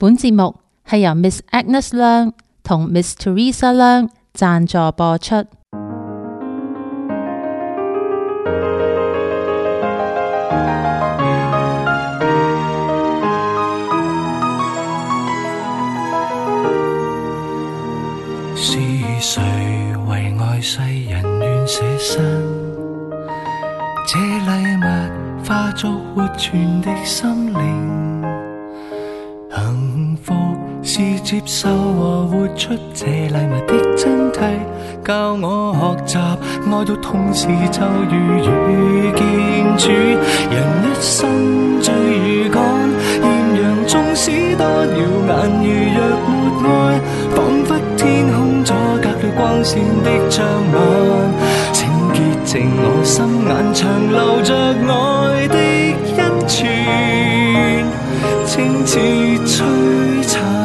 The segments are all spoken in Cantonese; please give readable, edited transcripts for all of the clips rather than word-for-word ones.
本節目係由 Miss Agnes 梁同 Miss Teresa 梁贊助播出。 是誰為愛世人願捨身？這禮物化作活存的心靈。幸福是接受和活出這禮物的真諦，教我學習愛到痛時就如遇見主。人一生最如趕，豔陽縱使多耀眼，如若沒愛，彷彿天空阻隔了光線的障礙。請潔淨我心眼，長留着愛的恩泉，清似璀璨。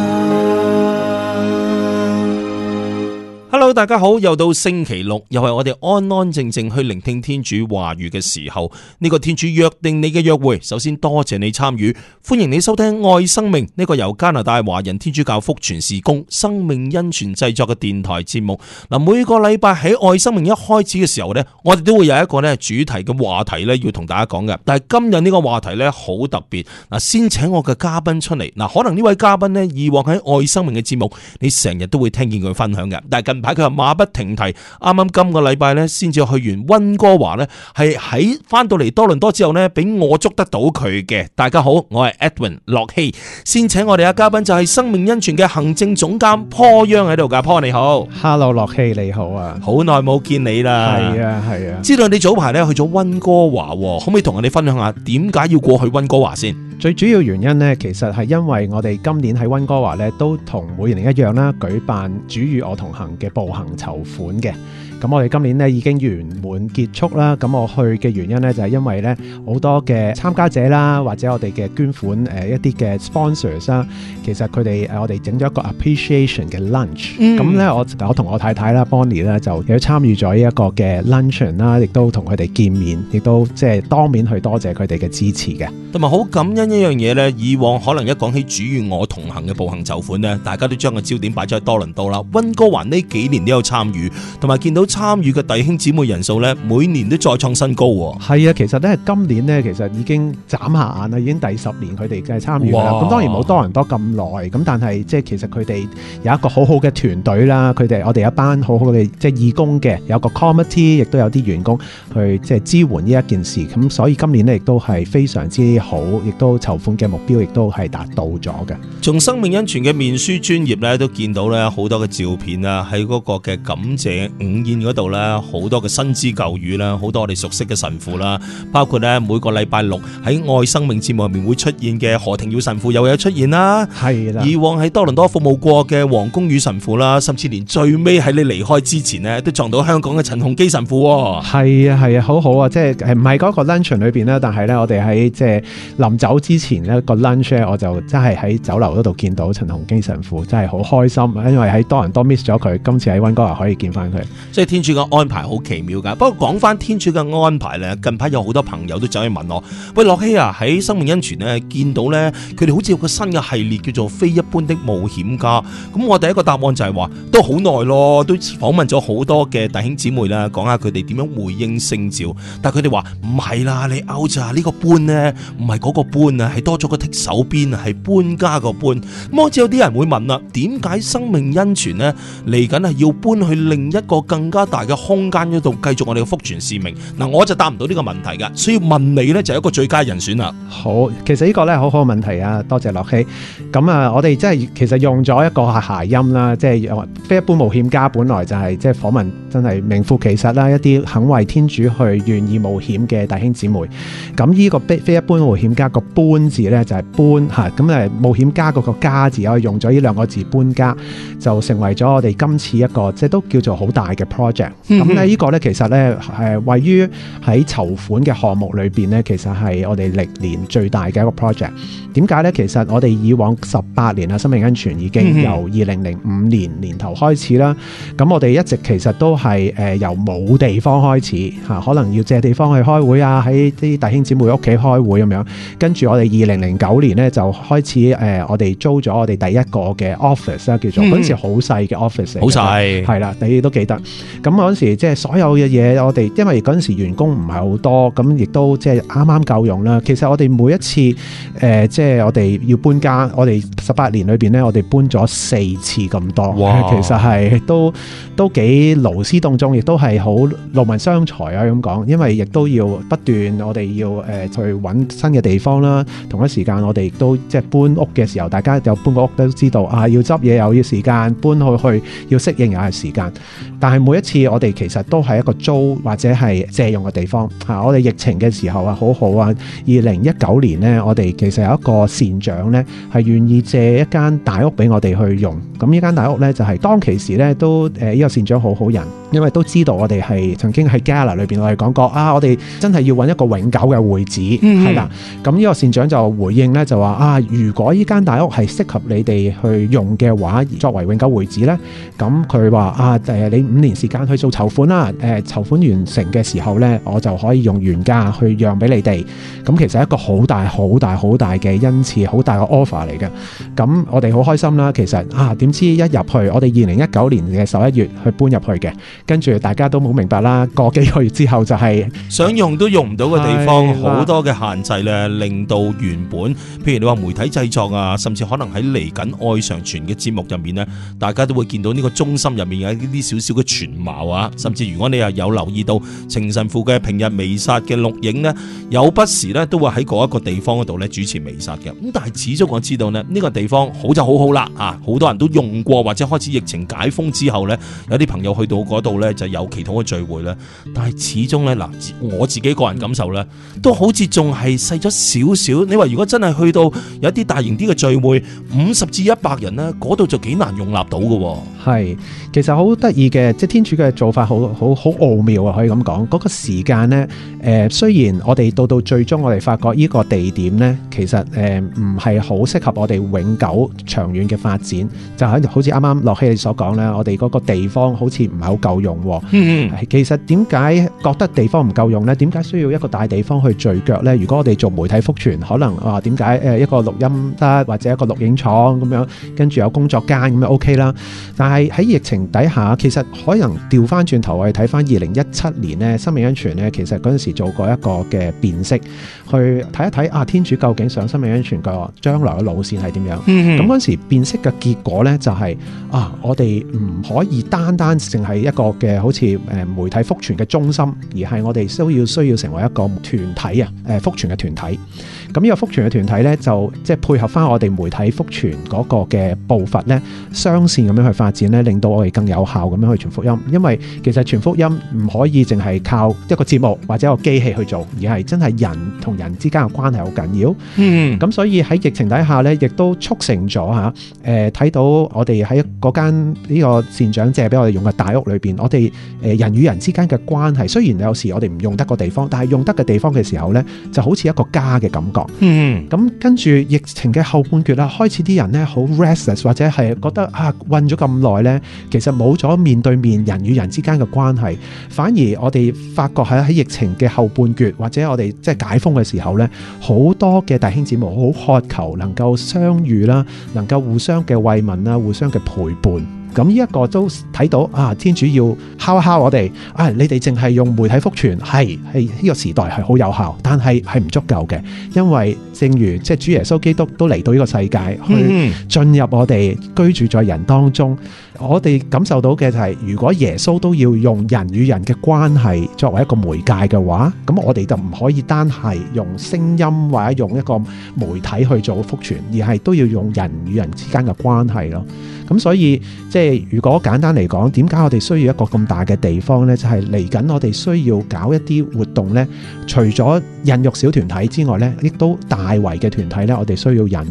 Hello， 大家好，又到星期六，又係我哋安安靜靜去聆聽天主話語嘅時候。呢個天主約定你嘅約會，首先多謝你參與，歡迎你收聽愛生命呢個由加拿大華人天主教福傳事工生命恩泉製作嘅電台節目。嗱，每個禮拜喺愛生命一開始嘅時候呢，我哋都會有一個主題嘅話題要同大家講嘅。但係今日呢個話題好特別。嗱，先請我嘅嘉賓出嚟。嗱，可能呢位嘉賓以往喺愛生命嘅節目，你成日都會聽見佢分享嘅。但係近排佢話馬不停蹄，啱啱今個禮拜先至去完溫哥華，係喺翻到嚟多倫多之後俾我捉得到佢嘅。大家好，我係 Edwin 駱曦。先請我哋嘅嘉賓就係生命恩泉嘅行政總監坡央喺度噶。坡你好。 Hello 駱曦你好啊， 好耐冇見你啦。 係啊，知道你早排去咗溫哥華，可唔可以同我哋分享下點解要過去溫哥華先？ 最主要原因其實係因為我哋今年喺溫哥華都同每年一樣啦，舉辦主與我同行嘅步行籌款嘅。咁我哋今年已經圓滿結束啦。咁我去嘅原因就係因為好多嘅參加者啦，或者我哋嘅捐款一啲嘅 sponsors 啦，其實佢哋我哋整咗一個 appreciation 嘅 lunch。咁我同我太太啦 Bonnie 咧就有參與咗呢一個嘅 luncheon 啦，亦都同佢哋見面，亦都即係當面去多謝佢哋嘅支持嘅。同埋好感恩一樣嘢以往可能一講起主與我同行嘅步行籌款大家都將個焦點擺咗喺多倫多啦。溫哥華呢幾年都有參與，同埋見到參與嘅弟兄姊妹人數每年都再創新高。 係啊，其實今年其實已經眨下眼啦，已經第10年佢哋嘅參與啦。咁當然冇多倫多咁耐，咁但係即係其實佢哋有一個好好嘅團隊啦。我哋有一班好好嘅即係義工嘅，有個 committee，亦都有啲員工去即係支援呢一件事。咁所以今年亦都係非常之好，亦都籌款嘅目標亦都係達到咗嘅。 從生命恩泉嘅面書專頁都見到好多嘅照片啦，喺嗰個嘅感謝午宴嗰度好多嘅新知舊語啦，好多我哋熟悉嘅神父啦，包括每個禮拜六喺愛生命節目入面會出現嘅何庭耀神父又有出現啦。係啦，以往喺多倫多服務過嘅黃公宇神父啦，甚至連最尾喺你離開之前都撞到香港嘅陳鴻基神父。 係啊，好好啊，即係唔係嗰個 lunch 裏邊咧，但係我哋喺即係臨走之前個 lunch 我就真係喺酒樓嗰度見到陳鴻基神父，真係好開心，因為喺多倫多 miss 咗佢，今次喺溫哥華可以見翻佢。 即係天主嘅安排好奇妙噶。不過講翻天主嘅安排近排有好多朋友都走去問我，喂，駱曦啊，喺生命恩泉見到佢哋好似有個新嘅系列叫做非一般的冒險家。咁我第一個答案就係話都好耐咯，都訪問咗好多嘅弟兄姊妹啦，講下佢哋點樣回應聖召。但係佢哋話唔係啦，你 out 咋，呢個搬唔係嗰個搬啊，係多咗個剔手邊啊，係搬家個搬。咁好似有啲人會問啦，點解生命恩泉嚟緊係要搬去另一個更加大嘅空間嗰度繼續我哋嘅福傳使命？嗱，我就答唔到呢個問題噶，所以問你就係一個最佳人選啦。 好，其實呢個好好嘅問題啊，多謝駱曦。咁啊，我哋真係其實用咗一個諧音啦，即係非一般冒險家，本來就係即係訪問真係名副其實啦，一啲肯為天主去願意冒險嘅弟兄姊妹。咁呢個非一般冒險家個搬字就係搬吓，咁冒險家嗰個家字，我哋用咗呢兩個字搬家，就成為咗我哋今次一個即係都叫做好大嘅 project。 project。咁咧呢個咧其實咧位於喺籌款嘅項目裏邊咧，其實係我哋歷年最大嘅一個 project。點解咧？其實我哋以往18年啊，生命恩泉已經由2005年年頭開始啦。咁我哋一直其實都係由冇地方開始嚇，可能要借地方去開會啊，喺啲弟兄姊妹屋企開會咁樣。跟住我哋2009年咧就開始我哋租咗我哋第一個嘅 office 啦，叫做嗰陣時好細嘅 office 嚟，好細係啦，你都記得。咁嗰陣時即係所有嘅嘢，我哋因為嗰陣時員工唔係好多，咁亦都即係啱啱夠用啦。其實我哋每一次即係我哋要搬家，我哋18年裏邊咧，我哋搬咗4次咁多。哇！其實係都幾勞師動眾，亦都係好勞民傷財啊咁講，因為亦都要不斷我哋要去揾新嘅地方啦。同一時間我哋亦都即係搬屋嘅時候，大家有搬過屋都知道啊，要執嘢又要時間，搬去要適應又係時間。但係每一次我哋其實都係一個租或者係借用嘅地方嚇。我哋疫情嘅時候啊，好好啊。2019年呢，我哋其實有一個善長呢，係願意借一間大屋俾我哋去用。咁呢間大屋呢，就係當其時呢都呢個善長好好人，因為都知道我哋係曾經喺 Gala 裏邊我哋講過啊，我哋真係要揾一個永久嘅會址係啦。咁呢個善長就回應呢，就話啊，如果呢間大屋係適合你哋去用嘅話，作為永久會址呢，咁佢話啊你5年時間去做籌款啦，籌款完成嘅時候呢，我就可以用原價去讓俾你哋。咁其實係一個好大嘅恩賜，好大嘅 offer 嚟嘅。咁我哋好開心啦。其實啊，點知一入去，我哋2019年嘅11月去搬入去嘅，跟住大家都冇明白啦。過幾個月之後就係想用都用唔到嘅地方，好多嘅限制咧，令到原本譬如你話媒體製作啊，甚至可能喺嚟緊愛常傳嘅節目入面呢，大家都會見到呢個中心入面有一啲少少嘅全貌啊。甚至如果你又有留意到程神父嘅平日彌撒嘅錄影呢，有不時呢都會喺嗰一個地方嗰度咧主持彌撒嘅。咁但係始終我知道呢，呢個地方好就好好啦啊！好多人都用過，或者開始疫情解封之後呢，有啲朋友去到嗰度呢就有祈禱嘅聚會咧。但係始終呢，嗱，我自己個人感受呢，都好似仲係細咗少少。你話如果真係去到有一啲大型啲嘅聚會，50至100人呢，嗰度就幾難容納到嘅。 係，其實好得意嘅，即係天主嘅做法好奧妙啊！可以咁講，嗰個時間呢，雖然我哋到最終我哋發覺呢個地點呢，其實唔係好適合我哋永久長遠嘅發展，就好似啱啱樂希你所講咧，我哋嗰個地方好似唔係好夠用。其實點解覺得地方唔夠用呢？點解需要一個大地方去聚腳呢？如果我哋做媒體福傳，可能點解一個錄音得或者一個錄影廠咁樣，跟住有工作間咁樣 OK 啦。但係喺疫情底下，其實可能調翻轉頭，我哋睇翻2017年呢，生命恩泉呢，其實嗰陣時做過一個嘅辨識，去睇一睇啊，天主究竟想生命恩泉個將來嘅路線係點樣？咁嗰陣時辨識嘅結果呢，就係我哋唔可以單淨係一個嘅好似媒體福傳嘅中心，而係我哋需要成為一個團體啊，福傳嘅團體。咁呢個福傳嘅團體呢，就即係配合翻我哋媒體福傳嗰個嘅步伐呢，雙線咁樣去發展呢，令到我哋更有效咁樣去傳福音。因為其實傳福音唔可以淨係靠一個節目或者一個機器去做，而係真係人同人之間嘅關係好緊要。咁所以喺疫情底下呢，亦都促成咗睇到我哋喺嗰間呢個善長借俾我哋用嘅大屋裏邊，我哋人與人之間嘅關係，雖然有時我哋唔用得個地方，但係用得嘅地方嘅時候呢，就好似一個家嘅感覺。咁跟住疫情嘅後半段啦，開始啲人呢好 restless， 或者係覺得困咗咁耐呢，其實冇咗面對面人與人之間嘅關係，反而我哋發覺喺疫情嘅後半段，或者我哋即係解封嘅時候呢，好多嘅弟兄姊妹好渴求能夠相遇啦，能夠互相嘅慰問啦，互相嘅陪伴。咁呢一個都睇到天主要敲一敲我哋你哋淨係用媒體福傳係呢個時代係好有效，但係唔足夠嘅，因為正如即係主耶穌基督都嚟到呢個世界去進入我哋居住在人當中，我哋感受到嘅就係如果耶穌都要用人與人嘅關係作為一個媒介嘅話，咁我哋就唔可以單係用聲音或者用一個媒體去做福傳，而係都要用人與人之間嘅關係咯。咁所以即係如果簡單嚟講，點解我哋需要一個咁大嘅地方呢？就係嚟緊我哋需要搞一啲活動呢，除咗孕育小團體之外呢，亦都大圍嘅團體呢，我哋需要孕育。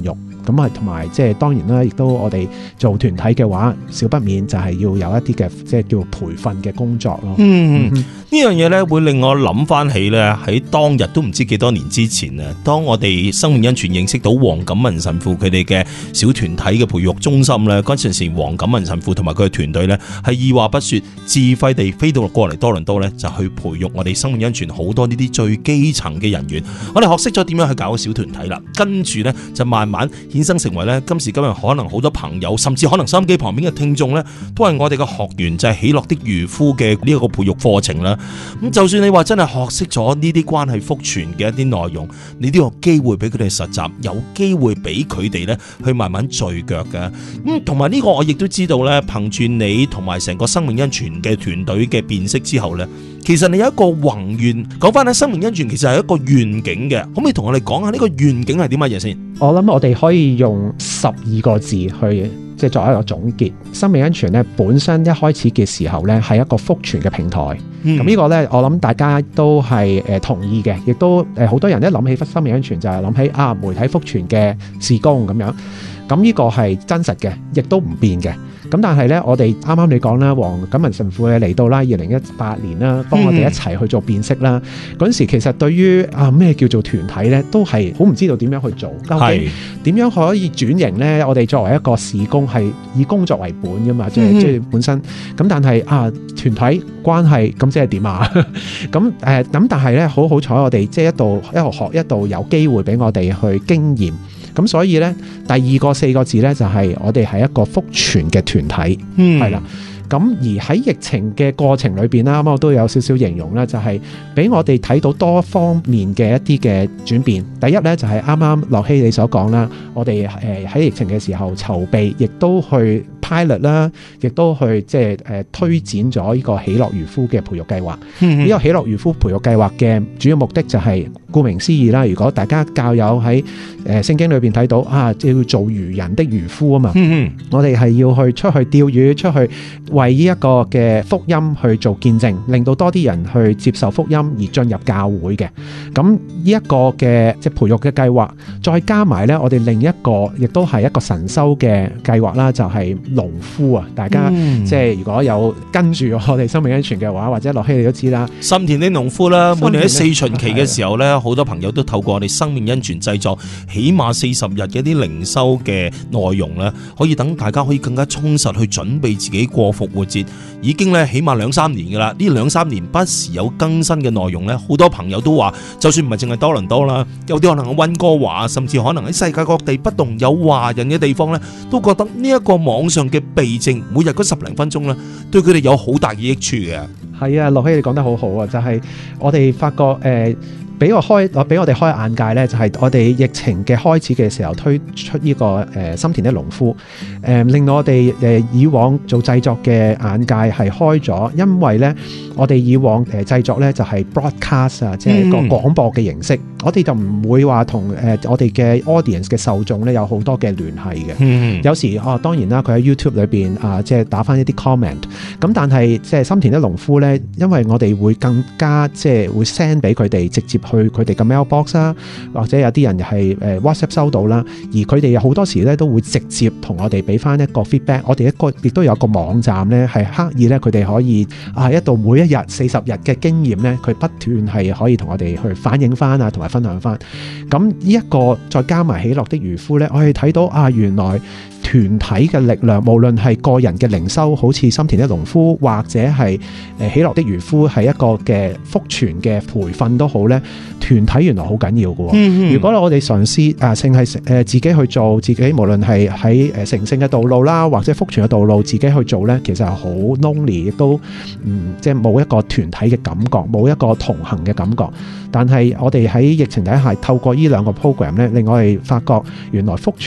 咁啊，同埋即係當然啦，亦都我哋做團體嘅話，少不免就係要有一啲嘅即係叫培訓嘅工作咯。 呢樣嘢咧會令我諗翻起咧，喺當日都唔知幾多年之前啊，當我哋生命恩泉認識到黃錦文神父佢哋嘅小團體嘅培育中心咧，嗰陣時黃錦文神父同埋佢嘅團隊咧係二話不說，自費地飛到過嚟多倫多咧，就去培育我哋生命恩泉好多呢啲最基層嘅人員。我哋學識咗點樣去搞個小團體啦，跟住咧就慢慢衍生成為咧今時今日可能好多朋友，甚至可能收音機旁邊嘅聽眾咧，都係我哋嘅學員，就係喜樂的漁夫嘅呢一個培育課程啦。咁就算你話真係學識咗呢啲關係福傳嘅一啲內容，你都有機會俾佢哋實習，有機會俾佢哋咧去慢慢聚腳嘅。咁同埋呢個我亦都知道咧，憑住你同埋成個生命恩泉嘅團隊嘅辨識之後咧，其實你有一個宏願。講翻喺生命恩泉其實係一個願景嘅，可唔可以同我哋講下呢個願景係啲乜嘢先？ 我諗我哋可以用12個字去即係作為一個總結。生命恩泉咧本身一開始嘅時候咧係一個福傳嘅平台，咁呢個咧我諗大家都係同意嘅，亦都好多人一諗起生命恩泉就係諗起媒體福傳嘅事工咁樣，咁呢個係真實嘅，亦都唔變嘅。咁但係咧，我哋啱啱你講啦，黃錦文神父嚟到啦，2018年啦，幫我哋一齊去做辨識啦。嗰陣時其實對於咩叫做團體咧，都係好唔知道點樣去做，究竟點樣可以轉型咧？我哋作為一個事工係以工作為本噶嘛，即係本身。咁但係團體關係咁即係點啊？咁但係咧好彩我哋即係一路學一路有機會俾我哋去經驗。咁所以咧，第二個4個字咧就係我哋係一個福傳嘅團體，係啦。咁而喺疫情嘅過程裏邊啦，咁我都有少少形容啦，就係俾我哋睇到多方面嘅一啲嘅轉變。第一咧就係啱啱樂希你所講啦，我哋喺疫情嘅時候籌備，亦都去 pilot 啦，亦都去即係推展咗呢個喜樂漁夫嘅培育計劃。呢個喜樂漁夫培育計劃嘅主要目的就係顧名思義啦。如果大家教友喺聖經裏邊睇到要做漁人的漁夫啊嘛，我哋係要去出去釣魚，出去為呢一個嘅福音去做見證，令到多啲人去接受福音而進入教會嘅。咁呢一個嘅即係培育嘅計劃，再加埋咧，我哋另一個亦都係一個神修嘅計劃啦，就係農夫啊！大家即係如果有跟住我哋生命恩泉嘅話，或者樂希你都知啦， 心田的農夫啦，每年喺4旬期嘅時候咧，好多朋友都透過我哋生命恩泉製作起碼40日嘅一啲靈修嘅內容咧，可以等大家可以更加充實去準備自己過復活節。已經咧起碼2-3年噶啦，呢2-3年不時有更新嘅內容咧，好多朋友都話，就算唔係淨係多倫多啦，有啲可能喺溫哥華，甚至可能喺世界各地不同有華人嘅地方咧，都覺得呢一個網上嘅避靜，每日嗰10零分鐘咧，對佢哋有好大嘅益處嘅。係啊， 樂希你講得好好啊，就係我哋發覺俾我哋開眼界咧，就係我哋疫情嘅開始嘅時候推出呢個心田的農夫，令到我哋以往做製作嘅眼界係開咗，因為咧我哋以往製作咧就係 broadcast 啊，即係一個廣播嘅形式，我哋就唔會話同我哋嘅 audience 嘅受眾咧有好多嘅聯繫嘅。有時當然啦，佢喺 YouTube 裏邊即係打返一啲 comment， 咁但係即係心田的農夫咧，因為我哋會更加即係會 send 俾佢哋直接去佢哋嘅 mailbox 啦，或者有啲人係WhatsApp 收到啦，而佢哋好多時咧都會直接同我哋俾翻一個 feedback。我哋亦都有一個網站咧，係刻意咧佢哋可以一到每一日40日嘅經驗咧，佢不斷係可以同我哋去反映翻同埋分享翻。咁呢一個再加埋喜樂的漁夫咧，我哋睇到原來團體嘅力量，無論係個人嘅靈修，好似心田的農夫，或者係喜樂的漁夫，係一個嘅福傳嘅培訓都好咧。團體原來好緊要嘅。如果我哋嘗試淨係自己去做，自己無論係喺成聖嘅道路啦，或者福傳嘅道路，自己去做咧，其實係好 lonely，亦都即係冇一個團體嘅感覺，冇一個同行嘅感覺。但係我哋喺疫情底下透過呢2個 program 咧，令我哋發覺原來福傳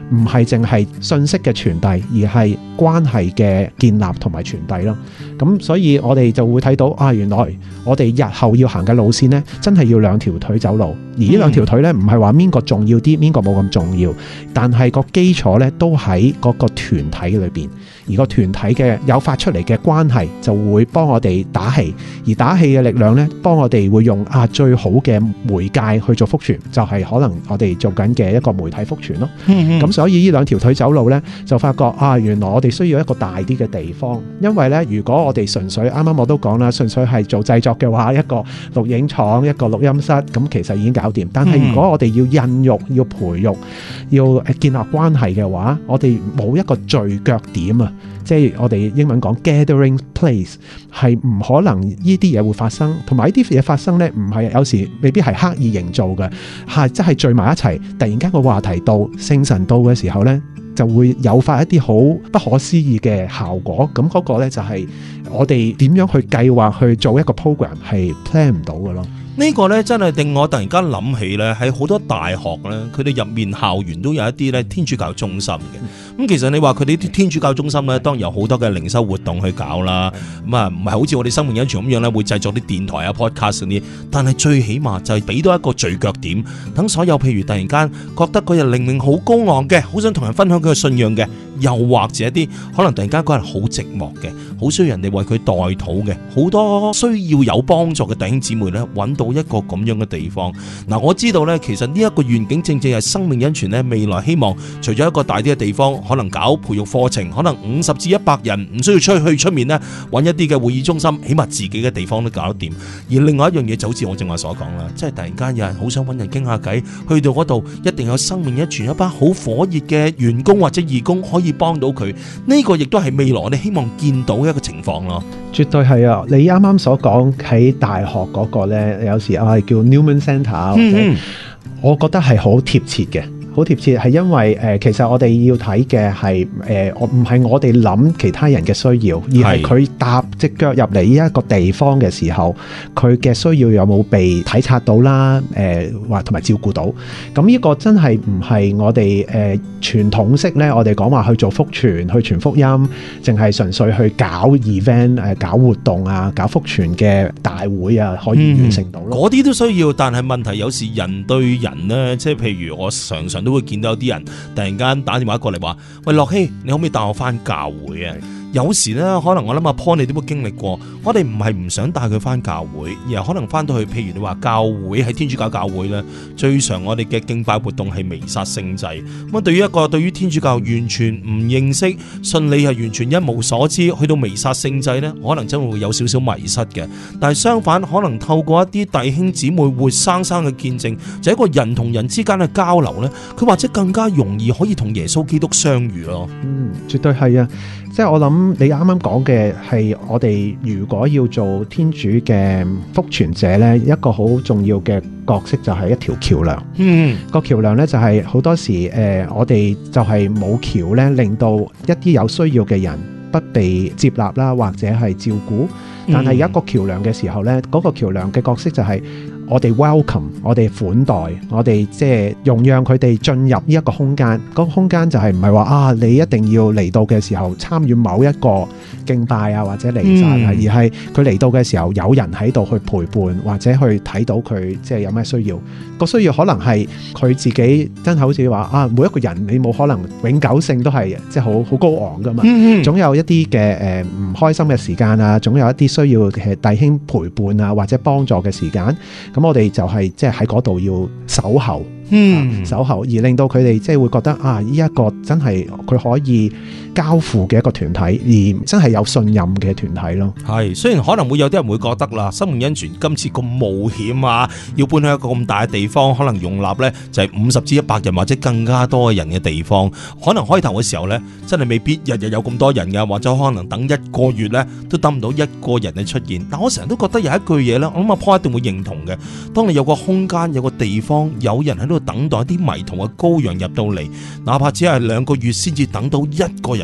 唔係淨係信息嘅傳遞，而係關係嘅建立同埋傳遞咯。咁所以我哋就會睇到啊，原來我哋日後要行嘅路線呢，真係要兩條腿走路。而呢兩條腿呢，唔係話邊個重要啲，邊個冇咁重要，但係個基礎呢都喺嗰個團體裏邊。而個團體嘅誘發出嚟嘅關係就會幫我哋打氣，而打氣嘅力量呢，幫我哋會用最好嘅媒介去做福傳，就係可能我哋做緊嘅一個媒體福傳咯。咁所以呢兩條腿走路呢，就發覺原來我哋需要一個大啲嘅地方，因為呢，如果我哋純粹啱啱我都講啦，純粹係做製作嘅話，一個錄影廠、一個錄音室，咁其實已經搞掂。但係如果我哋要孕育、要培育、要建立關係嘅話，我哋冇一個聚腳點啊！即係我哋英文講 gathering place， 係唔可能呢啲嘢會發生，同埋呢啲嘢發生呢，唔係有時未必係刻意營造嘅，係即係聚埋一齊，突然間個話題到聖神到嘅時候呢，就會誘發一啲好不可思議嘅效果。咁嗰個呢，就係我哋點樣去計劃去做一個 program 係 plan 唔到嘅咯。 呢個呢，真係令我突然間諗起呢，喺好多大學呢，佢哋入面校園都有一啲呢天主教中心嘅。咁其實你話佢哋啲天主教中心呢，當然有好多嘅靈修活動去搞啦。咁啊，唔係好似我哋生命恩泉咁樣呢，會製作啲電台啊 podcast 嗰啲。但係最起碼就係俾到一個聚腳點，等所有譬如突然間覺得嗰日靈命好高昂嘅，好想同人分享佢嘅信仰嘅，又或者一啲可能突然間嗰日好寂寞嘅，好需要人哋為佢代禱嘅，好多需要有幫助嘅弟兄姊妹呢，揾到一個咁樣嘅地方。嗱，我知道呢，其實呢一個願景正正係生命恩泉呢未來希望除咗一個大啲嘅地方，可能搞培育課程，可能50至100人唔需要去出面呢揾一啲嘅會議中心，起碼自己嘅地方都搞得掂。而另外一樣嘢就好似我正話所講啦，即係突然間有人好想揾人傾下偈，去到嗰度一定有生命恩泉一班好火熱嘅員工或者義工可以幫到佢。呢個亦都係未來我哋希望見到嘅一個情況咯。 絕對係啊！你啱啱所講喺大學嗰個呢，有時叫 Newman Center，或者我覺得係好貼切嘅。好貼切係因為其實我哋要睇嘅係唔係我哋諗其他人嘅需要，而係佢踏隻腳入嚟呢一個地方嘅時候，佢嘅需要有冇被體察到啦？或同埋照顧到。咁呢個真係唔係我哋傳統式咧，我哋講話去做福傳、去傳福音，淨係純粹去搞 event、搞活動啊、搞福傳嘅大會啊，可以完成到咯。嗰啲都需要，但係問題有時人對人呢，即係譬如我常常都會見到有啲人突然間打電話過嚟話：喂，樂希，你可唔可以帶我翻教會啊？有時咧，可能我諗阿 Paul 你都會經歷過，我哋唔係唔想帶佢翻教會，而係可能翻到去，譬如你話教會喺天主教教會咧，最常我哋嘅敬拜活動係彌撒聖祭。咁對於一個對於天主教完全唔認識、信理係完全一無所知，去到彌撒聖祭咧，可能真會有少少迷失嘅。但係相反，可能透過一啲弟兄姊妹活生生嘅見證，就係一個人同人之間嘅交流咧，佢或者更加容易可以同耶穌基督相遇咯。 絕對係啊！即係我諗你啱啱講嘅係我哋如果要做天主嘅福傳者呢，一個好重要嘅角色就係一條橋梁。個橋梁呢，就係好多時我哋就係冇橋呢，令到一啲有需要嘅人不被接納啦，或者係照顧。但係有一個橋梁嘅時候呢，嗰個橋梁嘅角色就係我哋 welcome， 我哋款待，我哋即係容讓佢哋進入呢一個空間。嗰個空間就係唔係話你一定要嚟到嘅時候參與某一個敬拜啊，或者彌撒啊，而係佢嚟到嘅時候有人喺度去陪伴，或者去睇到佢即係有咩需要。個需要可能係佢自己真係好似話每一個人你冇可能永久性都係即係好高昂噶嘛。總有一啲嘅唔開心嘅時間啊，總有一啲需要嘅弟兄陪伴啊，或者幫助嘅時間。咁我哋就係即係喺嗰度要守候，守候，而令到佢哋即係會覺得呢一個真係佢可以交付嘅一個團體，而真係有信任嘅團體咯。係， 雖然可能會有啲人會覺得啦，生命恩泉今次咁冒險啊，要搬去一個咁大嘅地方，可能容納呢就係50至100人或者更加多嘅人嘅地方，可能開頭嘅時候呢，真係未必日日有咁多人㗎，或者可能等1個月呢都等唔到1個人嘅出現。但我成日都覺得有一句嘢呢，我諗阿 Paul 一定會認同嘅，當你有個空間、有個地方、有人喺度等待一啲迷途嘅羔羊入到嚟，哪怕只係2個月先至等到1個人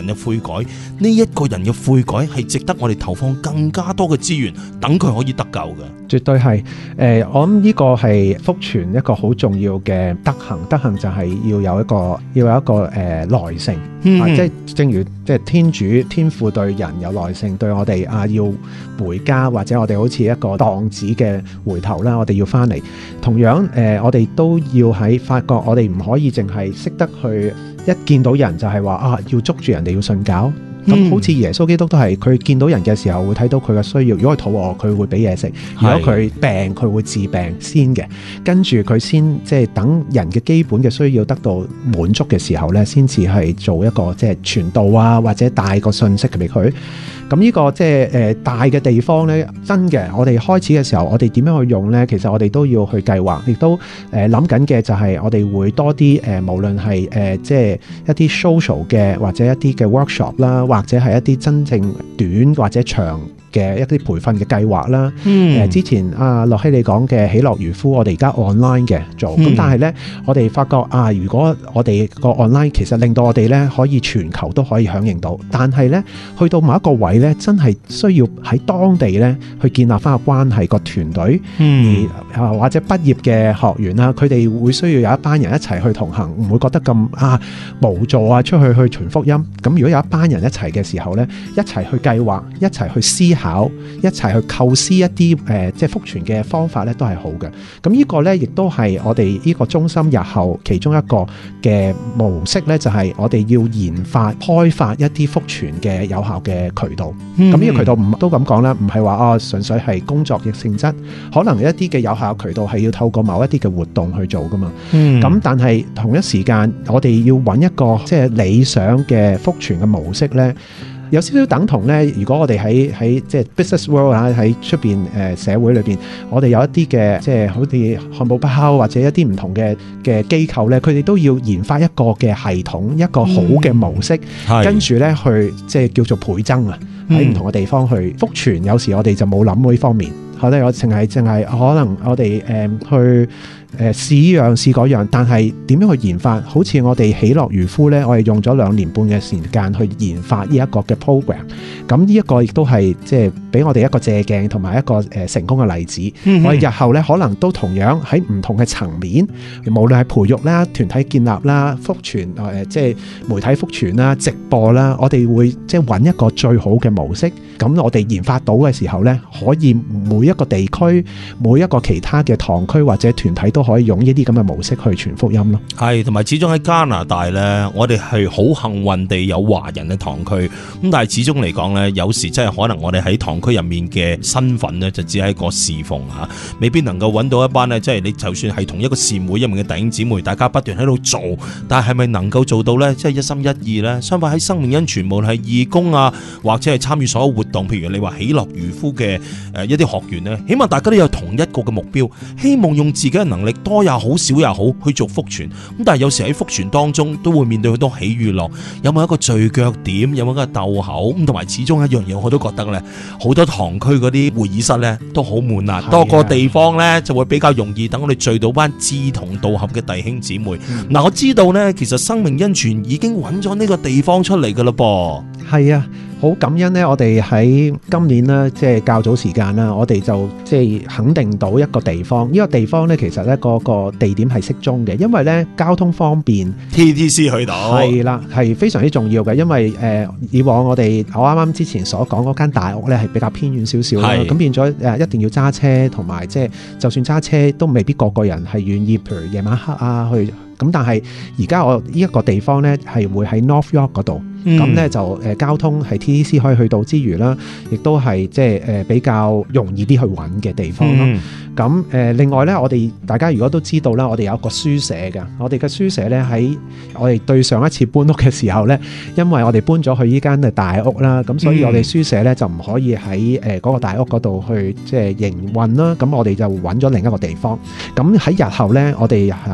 人嘅悔改，呢一個人嘅悔改係值得我哋投放更加多嘅資源，等佢可以得救嘅。 絕對係，我諗呢個係福傳一個好重要嘅德行。德行就係要有一個耐性，即係正如即係天父對人有耐性，對我哋要回家，或者我哋好似一個蕩子嘅回頭啦，我哋要翻嚟。同樣我哋都要喺發覺，我哋唔可以淨係識得去一見到人就係話要捉住人哋要信教。咁好似耶穌基督都係，佢見到人嘅時候會睇到佢嘅需要，如果佢肚餓佢會俾嘢食，如果佢病佢會治病先嘅，跟住佢先即係等人嘅基本嘅需要得到滿足嘅時候呢，先至係做一個即係傳道啊，或者帶個信息俾佢。咁呢個即係大嘅地方呢，真嘅，我哋開始嘅時候，我哋點樣去用呢？其實我哋都要去計劃，亦都諗緊嘅就係我哋會多啲無論係即係一啲 social 嘅或者一啲嘅 workshop 啦，或者係一啲真正短或者長嘅一啲培訓嘅計劃啦。之前樂希你講嘅喜樂漁夫，我哋而家 online 嘅做，咁但係呢，我哋發覺如果我哋個 online 其實令到我哋呢可以全球都可以響應到，但係呢，去到某一個位呢，真係需要喺當地呢去建立翻個關係，個團隊，而或者畢業嘅學員啦，佢哋會需要有一班人一齊去同行，唔會覺得咁無助出去傳福音。咁如果有一班人一齊嘅時候呢，一齊去計劃，一齊去思考，一齊去構思一啲即係福傳嘅方法呢，都係好嘅。咁呢個呢，亦都係我哋呢個中心日後其中一個嘅模式呢，就係我哋要研發開發一啲福傳嘅有效嘅渠道。咁呢個渠道都咁講啦，唔係話純粹係工作嘅性質，可能一啲嘅有效渠道係要透過某一啲嘅活動去做噶嘛。咁但係同一時間，我哋要揾一個即係理想嘅福傳嘅模式呢，有少少等同呢。如果我哋喺即係 business world 喺出邊社會裏邊，我哋有一啲嘅即係好似漢堡包或者一啲唔同嘅機構呢，佢哋都要研發一個嘅系統，一個好嘅模式，跟住呢去即係叫做倍增喺唔同嘅地方去福傳。有時我哋就冇諗呢方面，我哋淨係可能我哋去試依樣試嗰樣，但係點樣去研發？好似我哋喜樂漁夫呢，我哋用咗2年半嘅時間去研發呢一個嘅 program。咁呢一個亦都係即係俾我哋一個借鏡同埋一個成功嘅例子。我哋日後呢，可能都同樣喺唔同嘅層面，無論係培育啦、團體建立啦、福傳即係媒體福傳啦、直播啦，我哋會即係揾一個最好嘅模式。咁我哋研發到嘅時候呢，可以每一個地區、每一個其他嘅堂區或者團體都可以用呢啲咁嘅模式去傳福音咯。係， 同埋始終喺加拿大呢，我哋係好幸運地有華人嘅堂區。咁但係始終嚟講呢，有時真係可能我哋喺堂區入面嘅身份呢，就只係一個侍奉嚇，未必能夠揾到一班呢。即係你就算係同一個善會入面嘅弟兄姊妹，大家不斷喺度做，但係咪能夠做到呢？即係一心一意呢？相反喺生命恩泉，無論係義工或者係參與所有活動，譬如你話喜樂漁夫嘅一啲學員呢，起碼大家都有同一個嘅目標，希望用自己嘅能力多也好少也好去做福傳。咁但係有時喺福傳當中都會面對好多喜與樂，有冇一個聚腳點，有冇一個鬥口咁，同埋始終一樣嘢我都覺得呢，好多堂區嗰啲會議室呢都好悶啊，多個地方呢就會比較容易等我哋聚到班志同道合嘅弟兄姊妹。我知道呢，其實生命恩泉已經揾咗呢個地方出嚟噶啦噃。 係啊，好感恩呢，我哋喺今年呢，即係較早時間啦，我哋就即係肯定到一個地方。呢個地方呢，其實呢個地點係適中嘅，因為呢交通方便 ，TTC 去到係啦，係非常之重要嘅。因為以往我啱啱之前所講嗰間大屋呢，係比較偏遠少少啦，咁變咗一定要揸車，同埋即係就算揸車都未必個個人係願意，譬如夜晚黑去。咁但係而家我呢一個地方呢，係會喺 North York 嗰度，咁呢就交通係 TTC 可以去到之餘啦，亦都係即係比較容易啲去揾嘅地方咯。咁另外呢，我哋大家如果都知道啦，我哋有一個書社嘅，我哋嘅書社呢，喺我哋對上一次搬屋嘅時候呢，因為我哋搬咗去呢間嘅大屋啦，咁所以我哋書社呢就唔可以喺嗰個大屋嗰度去即係營運啦，咁我哋就揾咗另一個地方。咁喺日後呢，我哋即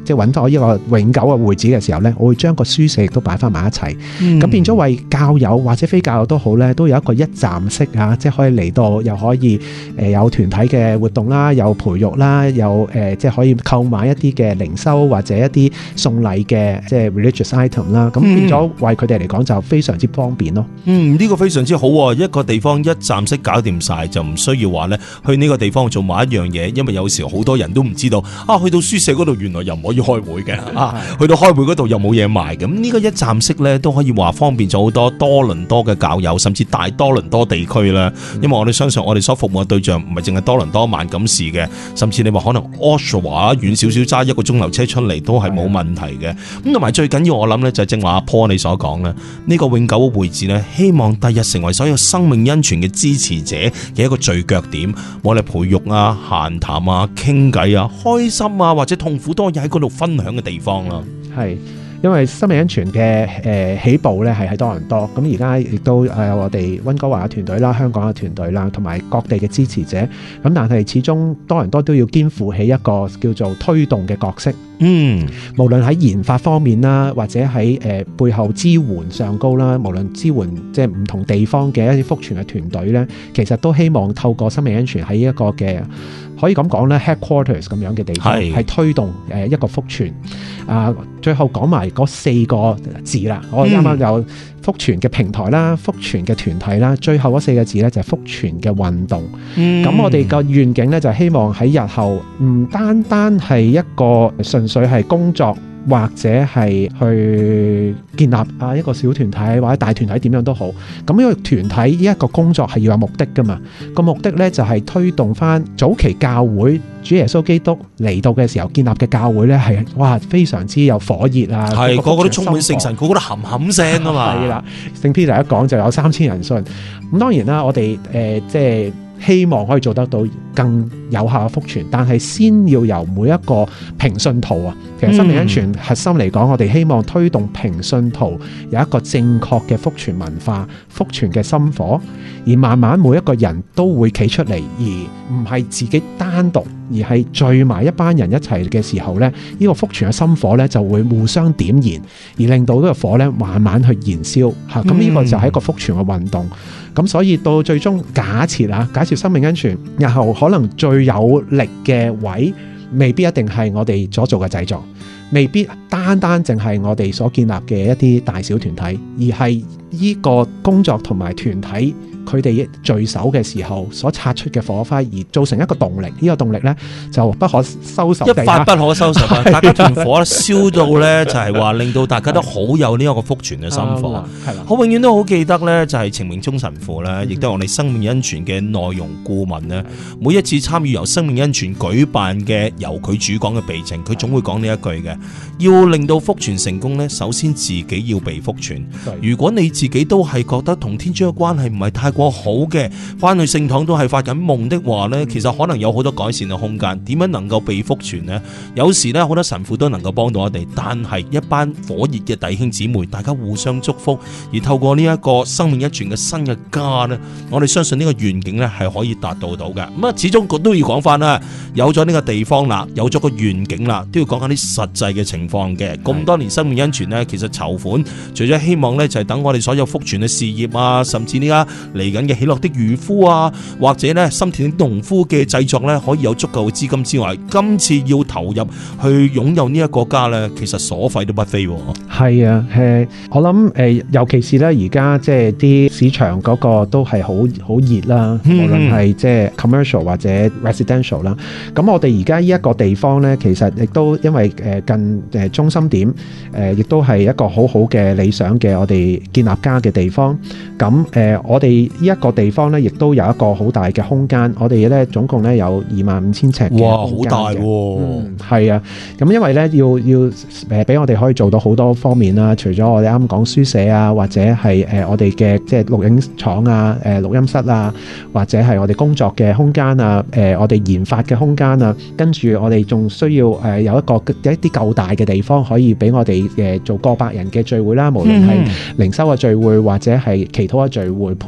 即係揾到一個永久嘅會址嘅時候咧，我會將個書舍亦都擺翻埋一齊，咁變咗為教友或者非教友都好咧，都有一個一站式啊，即係可以嚟到又可以有團體嘅活動啦，有培育啦，有即係可以購買一啲嘅靈修或者一啲送禮嘅即係 religious item 啦，咁變咗為佢哋嚟講就非常之方便咯。呢個非常之好喎，一個地方一站式搞掂晒，就唔需要話咧去呢個地方做某一樣嘢，因為有時好多人都唔知道去到書舍嗰度原來又唔可以開會嘅去到開會嗰度又冇嘢賣，咁呢個一站式咧都可以話方便咗好多多倫多嘅教友，甚至大多倫多地區啦。因為我哋相信我哋所服務嘅對象唔係淨係多倫多萬錦市嘅，甚至你話可能 Oshawa 遠少少揸1個鐘頭車出嚟都係冇問題嘅。咁同埋最緊要我諗咧就係正話阿 Paul 你所講咧，呢個永久嘅會址咧，希望第日成為所有生命恩泉嘅支持者嘅一個聚腳點，我哋培育啊、閒談啊、傾偈啊、開心啊或者痛苦都可以喺嗰度分享嘅地方啦。 係。因為生命恩泉嘅起步咧係喺多倫多，咁而家亦都有我哋溫哥華嘅團隊啦、香港嘅團隊啦，同埋各地嘅支持者。咁但係始終多倫多都要肩負起一個叫做推動嘅角色。無論喺研發方面啦，或者喺背後支援上高啦，無論支援即係唔同地方嘅一啲福傳嘅團隊咧，其實都希望透過生命恩泉喺一個嘅可以咁講咧 headquarters 咁樣嘅地方，係推動一個福傳。最後講埋嗰4個字啦，我啱啱有福傳嘅平台啦、福傳嘅團體啦，最後嗰4個字咧就係福傳嘅運動。咁我哋個願景咧就希望喺日後唔單單係一個純粹係工作，或者係去建立一個小團體或者大團體點樣都好，咁呢個團體呢一個工作係要有目的噶嘛。個目的咧就係推動翻早期教會主耶穌基督嚟到嘅時候建立嘅教會咧係哇非常之有火熱啊，係個個都充滿聖神，個個都冚冚聲啊嘛。係啦，聖 Peter 一講就有3000人信。咁當然啦，我哋即係希望可以做得到更有效嘅福傳，但係先要由每一個平信徒啊，其實生命恩泉核心嚟講，我哋希望推動平信徒有一個正確嘅福傳文化、福傳嘅心火，而慢慢每一個人都會企出嚟，而唔係自己單獨，而係聚埋一班人一齊嘅時候呢，呢個福傳嘅心火呢就會互相點燃，而令到呢個火呢慢慢去燃燒嚇。咁呢個就係一個福傳嘅運動。咁所以到最終假設生命恩泉日後可能最有力嘅位，未必一定係我哋所做嘅製作，未必單單淨係我哋所建立嘅一啲大小團體，而係呢個工作同埋團體佢哋聚首嘅時候所擦出嘅火花，而造成一個動力。呢個動力呢就不可收拾，一發不可收拾啊！大家團火燒到呢，就係話令到大家都好有呢一個福傳嘅心火。係啦，我永遠都好記得呢，就係程明忠神父呢，亦都係我哋生命恩泉嘅內容顧問呢。每一次參與由生命恩泉舉辦嘅由佢主講嘅備證，佢總會講呢一句嘅：要令到福傳成功呢，首先自己要被福傳。如果你自己都係覺得同天主嘅關係唔係太過好嘅，翻去聖堂都係發緊夢的話呢，其實可能有好多改善嘅空間。點樣能夠被福傳呢？有時呢，好多神父都能夠幫到我哋，但係一班火熱嘅弟兄姊妹，大家互相祝福，而透過呢一個生命一傳嘅新嘅家呢，我哋相信呢個願景呢係可以達到嘅。咁啊，始終都要講翻啦，有咗呢個地方啦，有咗個願景啦，都要講下啲實際嘅情況嘅。咁多年生命恩泉呢，其實籌款除咗希望呢，就係等我哋所有福傳嘅事業啊，甚至呢家嚟緊嘅喜樂的漁夫啊，或者咧心田的農夫嘅製作咧，可以有足夠嘅資金之外，今次要投入去擁有呢一個家咧，其實所費都不菲。係啊，我諗尤其是咧而家即係啲市場嗰個都係好熱啦，無論係即係 commercial 或者 residential 啦。咁我哋而家呢一個地方咧，其實亦都因為近中心點亦都係一個好好嘅理想嘅我哋建立家嘅地方。咁我哋呢一個地方咧，亦都有一個好大嘅空間。我哋咧總共咧有25,000尺嘅空間。哇，好大喎！係啊，咁因為咧要俾我哋可以做到好多方面啦。除咗我哋啱講書舍啊，或者係我哋嘅即係錄影廠啊、錄音室啊，或者係我哋工作嘅空間啊、我哋研發嘅空間啊，跟住我哋仲需要有一啲夠大嘅地方，可以俾我哋做過百人嘅聚會啦。無論係靈修嘅聚會，或者係祈禱嘅聚會、培育嘅聚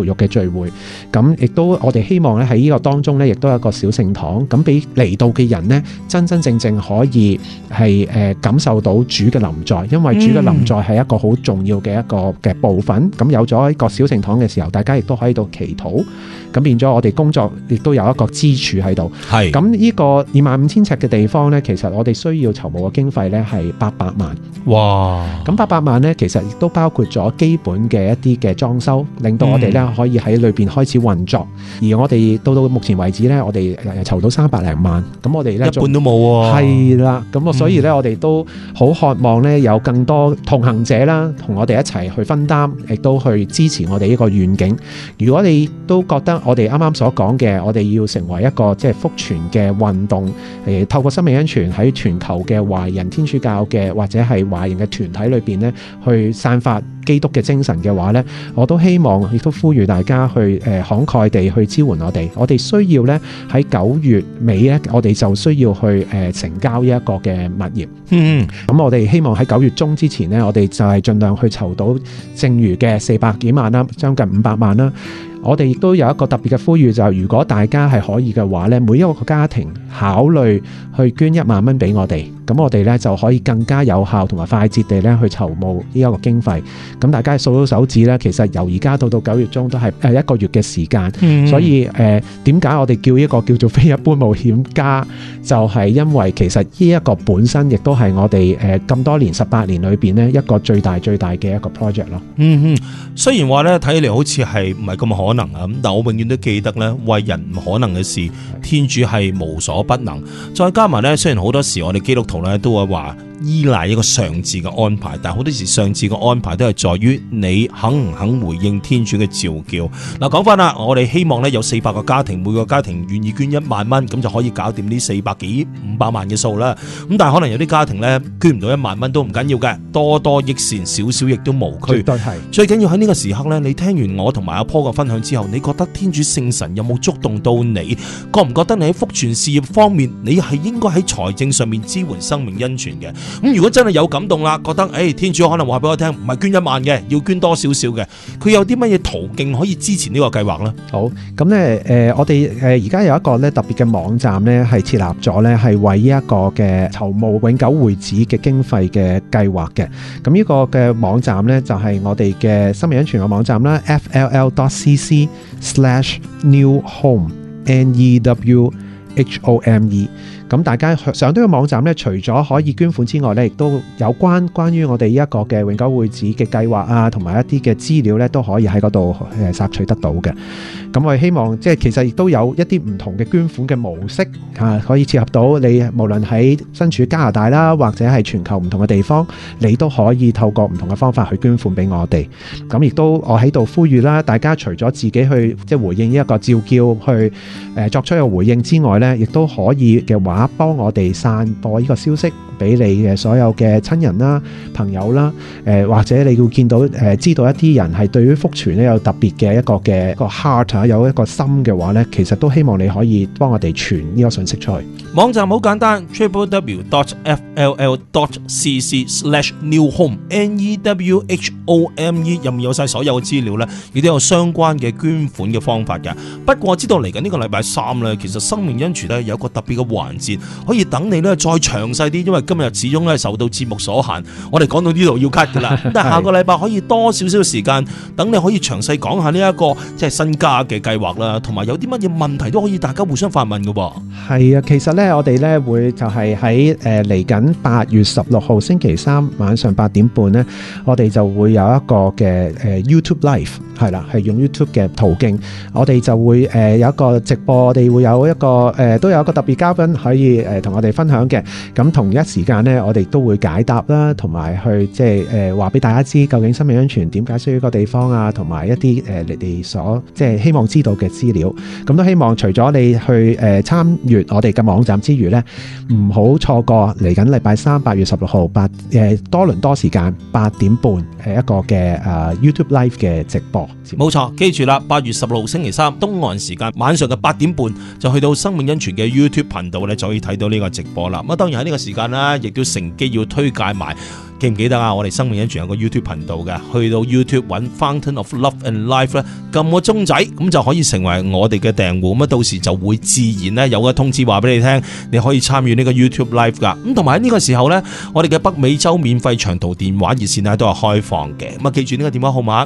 聚會。咁亦都我哋希望咧喺呢個當中咧，亦都有一個小聖堂，咁俾嚟到嘅人呢，真真正正可以係感受到主嘅臨在，因為主嘅臨在係一個好重要嘅一個嘅部分。咁有咗一個小聖堂嘅時候，大家亦都可以到祈禱，咁變咗我哋工作亦都有一個支柱喺度。係咁呢個25,000尺嘅地方呢，其實我哋需要籌募嘅經費呢係800萬。哇！咁800萬呢，其實亦都包括咗基本嘅一啲嘅裝修，令到我哋呢可以喺裏邊開始運作。而我哋到目前為止呢，我哋籌到300零萬。咁我哋呢，一半都冇喎。係啦，咁所以呢，我哋都好渴望呢，有更多同行者啦，同我哋一齊去分擔，亦都去支持我哋呢個願景。如果你都覺得我哋啱啱所講嘅，我哋要成為一個即係福傳嘅運動，透過生命恩泉喺全球嘅華人天主教嘅或者係華人嘅團體裏邊呢，去散發基督嘅精神嘅話呢，我都希望亦都呼籲大家去慷慨地去支援我哋。我哋需要呢，喺9月尾呢，我哋就需要去成交呢一個嘅物業。咁我哋希望喺9月中之前呢，我哋就係盡量去籌到剩餘嘅400幾萬啦，將近500萬啦。我哋亦都有一個特別嘅呼籲，就係如果大家係可以嘅話呢，每一個家庭考慮去捐1萬蚊俾我哋，咁我哋呢就可以更加有效同埋快捷地呢去籌募呢一個經費。咁大家數到手指呢，其實由而家到9月中都係1個月嘅時間。所以點解我哋叫一個叫做非一般冒險家，就係因為其實呢一個本身亦都係我哋咁多年18年裏邊呢一個最大嘅一個 project 咯。 雖然話呢睇起嚟好似係唔係咁可能啊，咁但我永遠都記得呢，為人唔可能嘅事，天主係無所不能。再加埋呢，雖然好多時我哋基督徒呢都會話依賴一個上智嘅安排，但好多時上智嘅安排都係在於你肯唔肯回應天主嘅召叫。嗱，講翻啦，我哋希望呢有400個家庭，每個家庭願意捐1萬蚊，咁就可以搞掂呢400幾500萬嘅數啦。咁但係可能有啲家庭呢捐唔到1萬蚊都唔緊要嘅，多多益善，少少亦都無拘。絕對係。最緊要喺呢個時刻呢，你聽完我同埋阿坡嘅分享之後，你覺得天主聖神有冇觸動到你？覺唔覺得你喺福傳事業方面，你係應該喺財政上面支援生命恩泉嘅？咁如果真係有感動啦，覺得天主可能話俾我聽，唔係捐1萬嘅，要捐多少少嘅，佢有啲乜嘢途徑可以支持呢個計劃呢？好，咁呢我哋而家有一個咧特別嘅網站呢，係設立咗呢，係為呢一個嘅籌募永久會址嘅經費嘅計劃嘅。咁呢個嘅網站呢，就係我哋嘅生命恩泉嘅網站啦 fll.cc/newhome。咁大家上到個網站咧，除咗可以捐款之外咧，亦都有關於我哋呢一個嘅永久會址嘅計劃啊，同埋一啲嘅資料咧，都可以喺嗰度索取得到嘅。咁我哋希望即係其實亦都有一啲唔同嘅捐款嘅模式可以切合到你，無論喺身處加拿大啦，或者係全球唔同嘅地方，你都可以透過唔同嘅方法去捐款俾我哋。咁亦都我喺度呼籲啦，大家除咗自己去即係回應呢一個召叫去作出一個回應之外咧，亦都可以嘅話，幫我哋散播呢個消息俾你嘅所有嘅親人啦、朋友啦，或者你會見到知道一啲人係對於福傳咧有特別嘅一個 heart 有一個心嘅話咧，其實都希望你可以幫我哋傳呢個信息出去。網站好簡單 www.fll.cc/newhome NEWHOME 入面有晒所有嘅資料咧，亦都有相關嘅捐款嘅方法嘅。不過我知道嚟緊呢個禮拜3咧，其實生命恩泉咧有一個特別嘅環節，可以等你咧再詳細啲，因為今日始終咧受到節目所限，我哋講到呢度要 cut 噶啦。但係下個禮拜可以多少少時間，等你可以詳細講下呢一個即係新家嘅計劃啦，同埋有啲乜嘢問題都可以大家互相發問噶噃。係啊，其實咧我哋咧會就係喺嚟緊8月16號星期3晚上8點半咧，我哋就會有一個嘅YouTube Live 係啦，係用 YouTube 嘅途徑，我哋就會有一個直播，我哋會有一個都有一個特別嘉賓可以同我哋分享嘅。咁同一時間咧，我哋都會解答啦，同埋去即係話俾大家知究竟生命恩泉點解需要一個地方啊，同埋一啲你哋所即係希望知道嘅資料。咁都希望除咗你去參閱我哋嘅網站之餘咧，唔好錯過嚟緊禮拜3 8月16號多倫多時間8點半一個嘅YouTube Live 嘅直播。冇錯，記住啦，8月16號星期3東岸時間晚上嘅8點半就去到生命恩泉嘅 YouTube 頻道咧，就可以睇到呢個直播啦。咁當然喺呢個時間啦，亦都乘機要推介埋記唔記得啊？我哋生命恩泉有個 YouTube 頻道嘅，去到 YouTube 揾 Fountain of Love and Life 咧，撳個鐘仔，咁就可以成為我哋嘅訂戶，咁到時就會自然咧有個通知話俾你聽，你可以參與呢個 YouTube Live 噶。咁同埋喺呢個時候呢，我哋嘅北美洲免費長途電話熱線咧都係開放嘅。咁啊，記住呢個電話號碼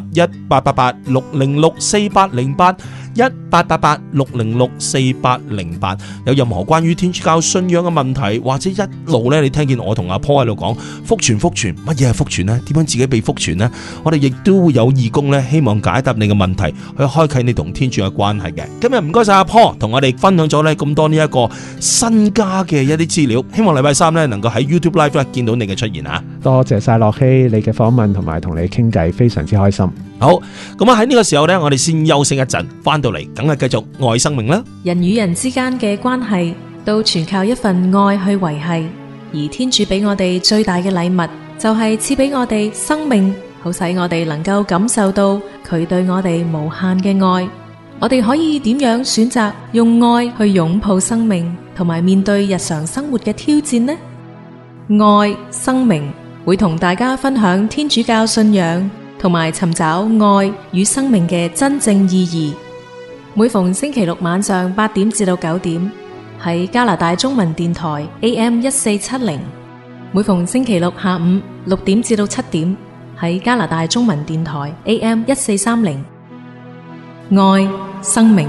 1888-606-4808。1888-606-4808，有任何關於天主教信仰嘅問題，或者一路咧你聽見我同阿 Paul 喺度講福傳，乜嘢係福傳呢？點樣自己被福傳呢？我哋亦都會有義工咧，希望解答你嘅問題，去開啟你同天主嘅關係嘅。今日唔該晒阿 Paul 同我哋分享咗咧咁多呢一個新加嘅一啲資料，希望禮拜三咧能夠喺 YouTube Live 咧見到你嘅出現啊！多謝晒樂希你嘅訪問同埋同你傾偈，非常之開心。好，咁啊喺呢個時候呢，我哋先休息一陣，翻到嚟梗係繼續愛生命啦。人與人之間嘅關係都全靠一份愛去維繫，而天主俾我哋最大嘅禮物就係賜俾我哋生命，好使我哋能夠感受到佢對我哋無限嘅愛。我哋可以點樣選擇用愛去擁抱生命，同埋面對日常生活嘅挑戰呢？愛生命會同大家分享天主教信仰同埋尋找愛與生命嘅真正意義。每逢星期六晚上8點至到9點，喺加拿大中文電台 AM1470；每逢星期六下午6點至到7點，喺加拿大中文電台 AM1430。愛生命。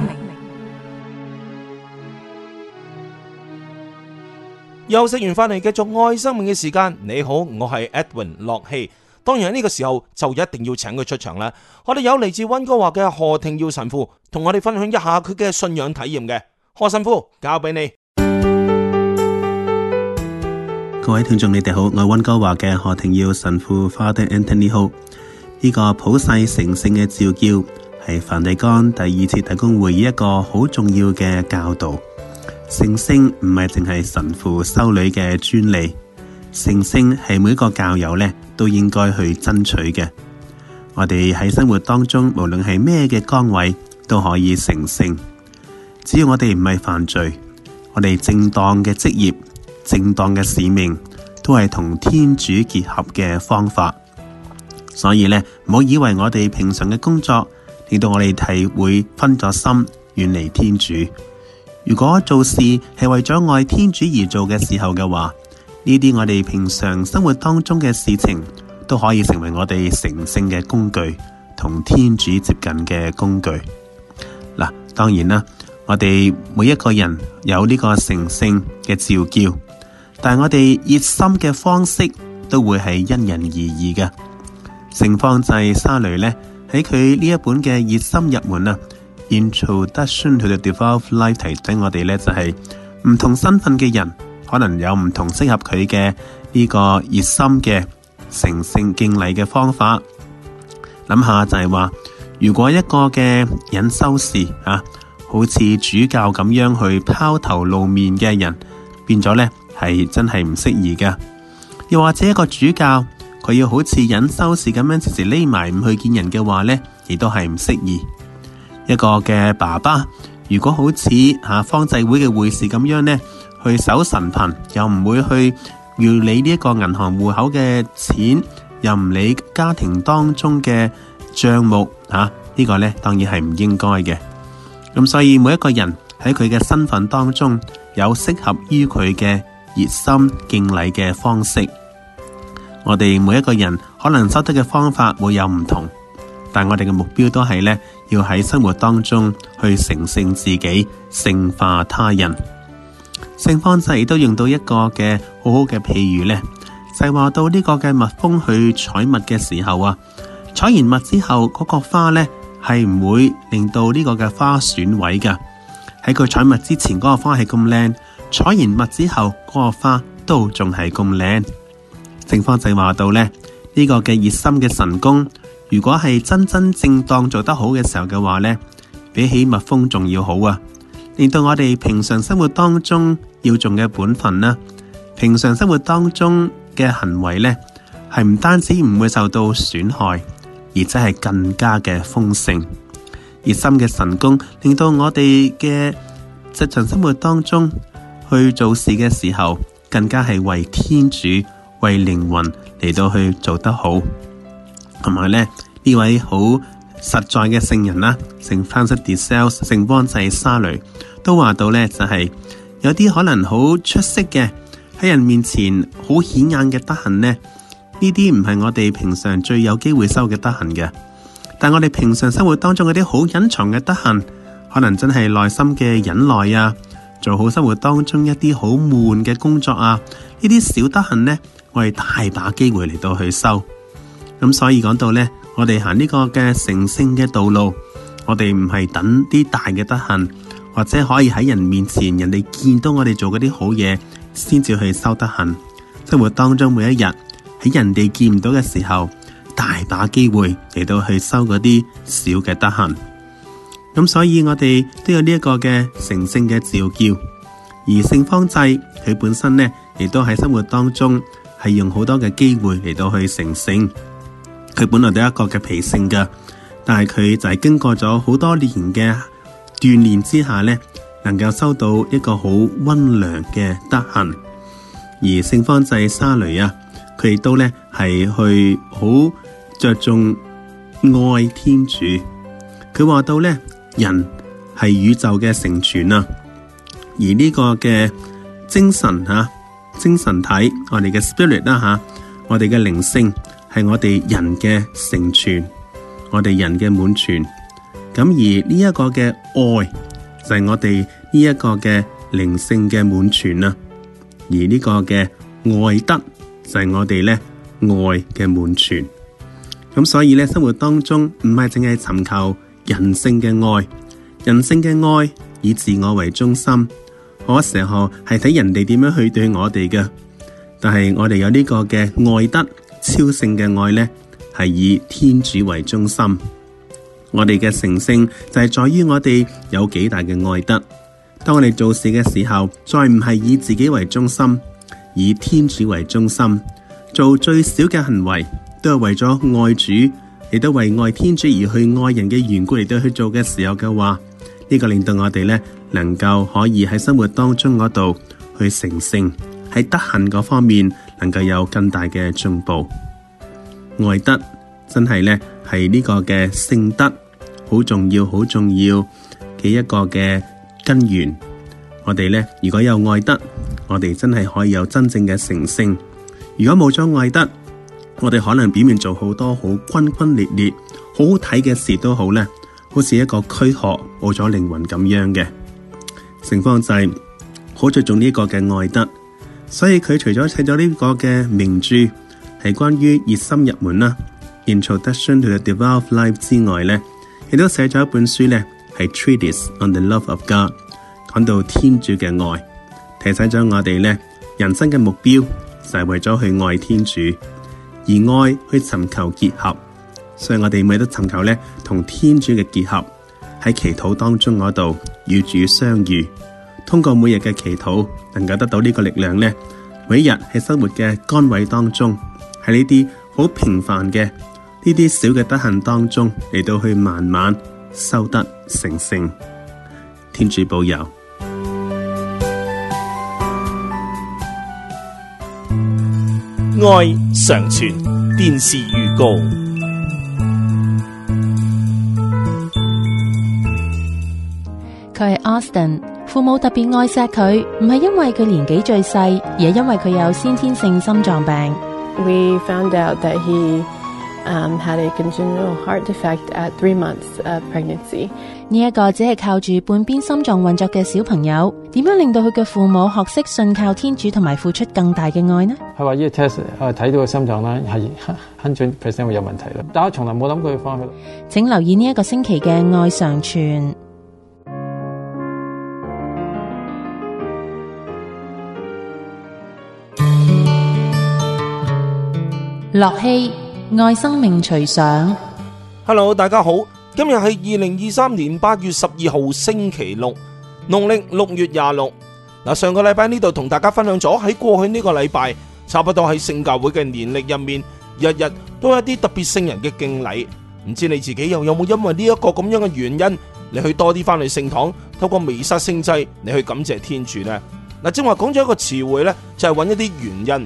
休息完翻嚟繼續愛生命嘅時間。你好，我係 Edwin 樂希。當然喺呢個時候就一定要請佢出場啦。我哋有嚟自溫哥華嘅何庭耀神父，同我哋分享一下佢嘅信仰體驗嘅。何神父，交俾你。 各位聽眾你哋好，我係溫哥華嘅何庭耀神父 Father Anthony Ho。呢個普世成聖嘅召叫係梵蒂岡第2次大公會議一個好重要嘅教導。成聖唔係淨係神父修女嘅專利，成聖係每一個教友呢都應該去爭取嘅。我哋喺生活當中，無論係咩嘅崗位，都可以成聖。只要我哋唔係犯罪，我哋正當嘅職業、正當嘅使命，都係同天主結合嘅方法。所以呢，唔好以為我哋平常嘅工作令到我哋係會分咗心，遠離天主。如果做事係為咗愛天主而做嘅時候嘅話，呢啲我哋平常生活當中嘅事情都可以成為我哋成聖嘅工具，同天主接近嘅工具。嗱，當然啦，我哋每一個人有呢個成聖嘅召叫，但係我哋熱心嘅方式都會係因人而異嘅。聖方濟沙雷呢，喺佢呢一本嘅熱心入門啊 Introduction to the Devout Life 提醒我哋呢，就係唔同身份嘅人可能有唔同適合佢嘅呢個熱心嘅成聖敬禮嘅方法。諗下就係話，如果一個嘅隱修士啊，好似主教咁樣去拋頭露面嘅人，變咗呢係真係唔適宜嘅。又或者一個主教，佢要好似隱修士咁樣時時匿埋唔去見人嘅話呢，亦都係唔適宜。一個嘅爸爸，如果好似方濟會嘅會士咁樣呢，去守神貧，又唔會去要理呢一個銀行戶口嘅錢，又唔理家庭當中嘅賬目，呢個呢當然係唔應該嘅。咁所以每一個人喺佢嘅身份當中，有適合於佢嘅熱心敬禮嘅方式。我哋每一個人可能修德嘅方法會有唔同，但我哋嘅目標都係呢，要喺生活當中去成聖自己，聖化他人。聖方濟都用到一個嘅好好嘅譬喻呢，就係話到呢個嘅蜜蜂去採蜜嘅時候啊，採完蜜之後嗰個花呢係唔會令到呢個嘅花損毀噶。喺佢採蜜之前嗰個花係咁靚，採完蜜之後嗰個花都仲係咁靚。聖方濟話到呢，呢個嘅熱心嘅神功，如果係真真正當做得好嘅時候嘅話呢，比起蜜蜂仲要好啊！令到我哋平常生活當中要做嘅本分啦，平常生活當中嘅行為呢，係唔單止唔會受到損害，而且係更加嘅豐盛。熱心嘅神功令到我哋嘅日常生活當中去做事嘅時候，更加係為天主、 為靈魂嚟到去做得好。同埋呢位好實在嘅聖人啦，聖 Francis de Sales 聖方濟沙雷都話到呢，就係有啲可能好出色嘅喺人面前好顯眼嘅德行呢，呢啲唔係我哋平常最有機會收嘅德行嘅。但我哋平常生活當中嗰啲好隱藏嘅德行，可能真係內心嘅忍耐啊，做好生活當中一啲好悶嘅工作啊，呢啲小德行呢，我哋大把機會嚟到去收。咁所以講到呢，我哋行呢個嘅成聖嘅道路，我哋唔係等啲大嘅德行，或者可以喺人面前，人哋見到我哋做嗰啲好嘢，先至去收德行。生活當中每一日喺人哋見唔到嘅時候，大把機會嚟到去收嗰啲小嘅德行。咁所以我哋都有呢一個嘅成聖嘅召叫。而聖方濟佢本身呢，亦都喺生活當中係用好多嘅機會嚟到去成聖。佢本來都有一個嘅脾性噶，但係佢就係經過咗好多年嘅鍛煉之下呢，能夠收到一個好溫良嘅德行。而聖方濟沙雷啊，佢亦都呢係去好着重愛天主。佢話到呢，人係宇宙嘅成全啊，而呢個嘅精神精神體，我哋嘅 spirit 啦我哋嘅靈性係我哋人嘅成全，我哋人嘅滿全。咁而呢一個嘅愛就係我哋呢一個嘅靈性嘅滿全啊，而呢個嘅愛德就係我哋呢愛嘅滿全。咁所以呢，生活當中唔係淨係尋求人性嘅愛，人性嘅愛以自我為中心，好多時候係睇人哋點樣去對我哋嘅。但係我哋有呢個嘅愛德超性嘅愛呢，係以天主為中心。我哋嘅成聖就係在於我哋有幾大嘅愛德。當我哋做事嘅時候，再唔係以自己為中心，以天主為中心，做最小嘅行為都係為咗愛主，亦都為愛天主而去愛人嘅緣故嚟到去做嘅時候嘅話，呢個令到我哋呢能夠可以喺生活當中嗰度去成聖，喺德行嗰方面能夠有更大嘅進步。愛德真係呢係呢個嘅聖德好重要好重要嘅一個嘅根源。我哋呢如果有愛德，我哋真係可以有真正嘅成聖。如果冇咗愛德，我哋可能表面做好多好轟轟烈烈好好睇嘅事都好呢，好似一個軀殼冇咗靈魂咁樣嘅。聖方濟好着重呢個嘅愛德，所以佢除咗寫咗呢個嘅名著係關於熱心入門啦 Introduction to the Devout Life 之外呢，亦都寫咗一本書呢，係 Treatise on the Love of God， 講到天主嘅愛，提醒咗我哋呢，人生嘅目標就係為咗去愛天主，而愛去尋求結合。所以我哋咪都尋求呢，同天主嘅結合，喺祈禱當中嗰度與主相遇，通過每日嘅祈禱能夠得到呢個力量呢，每一日喺生活嘅崗位當中，喺呢啲好平凡嘅呢啲小嘅德行當中嚟到去慢慢修得成聖。天主保佑。 愛常傳電視預告。 佢係 Austin， 父母特別愛錫佢，唔係因為佢年紀最細，而係因為佢有先天性心臟病。 We found out that he had a congenital heart defect at 3 months of pregnancy. 呢一個只係靠住半邊心臟運作嘅小朋友，點樣令到佢嘅父母學識信靠天主同埋付出更大嘅愛呢？ 佢話呢個 test 睇到個心臟啦係 100% 會有問題啦，但我從來冇諗過要翻去。 請留意呢一個星期嘅愛常傳。樂器愛生命隨想。 Hello， 大家好，今日係2023年8月12號星期六，農曆6月26。上個禮拜呢度同大家分享咗喺過去呢個禮拜，差不多喺聖教會嘅年歷入面，日日都有一啲特別聖人嘅敬禮。唔知你自己又有冇因為呢一個咁樣嘅原因，你去多啲翻去聖堂，透過彌撒聖祭，你去感謝天主呢？正話講咗一個詞彙呢，就係揾一啲原因。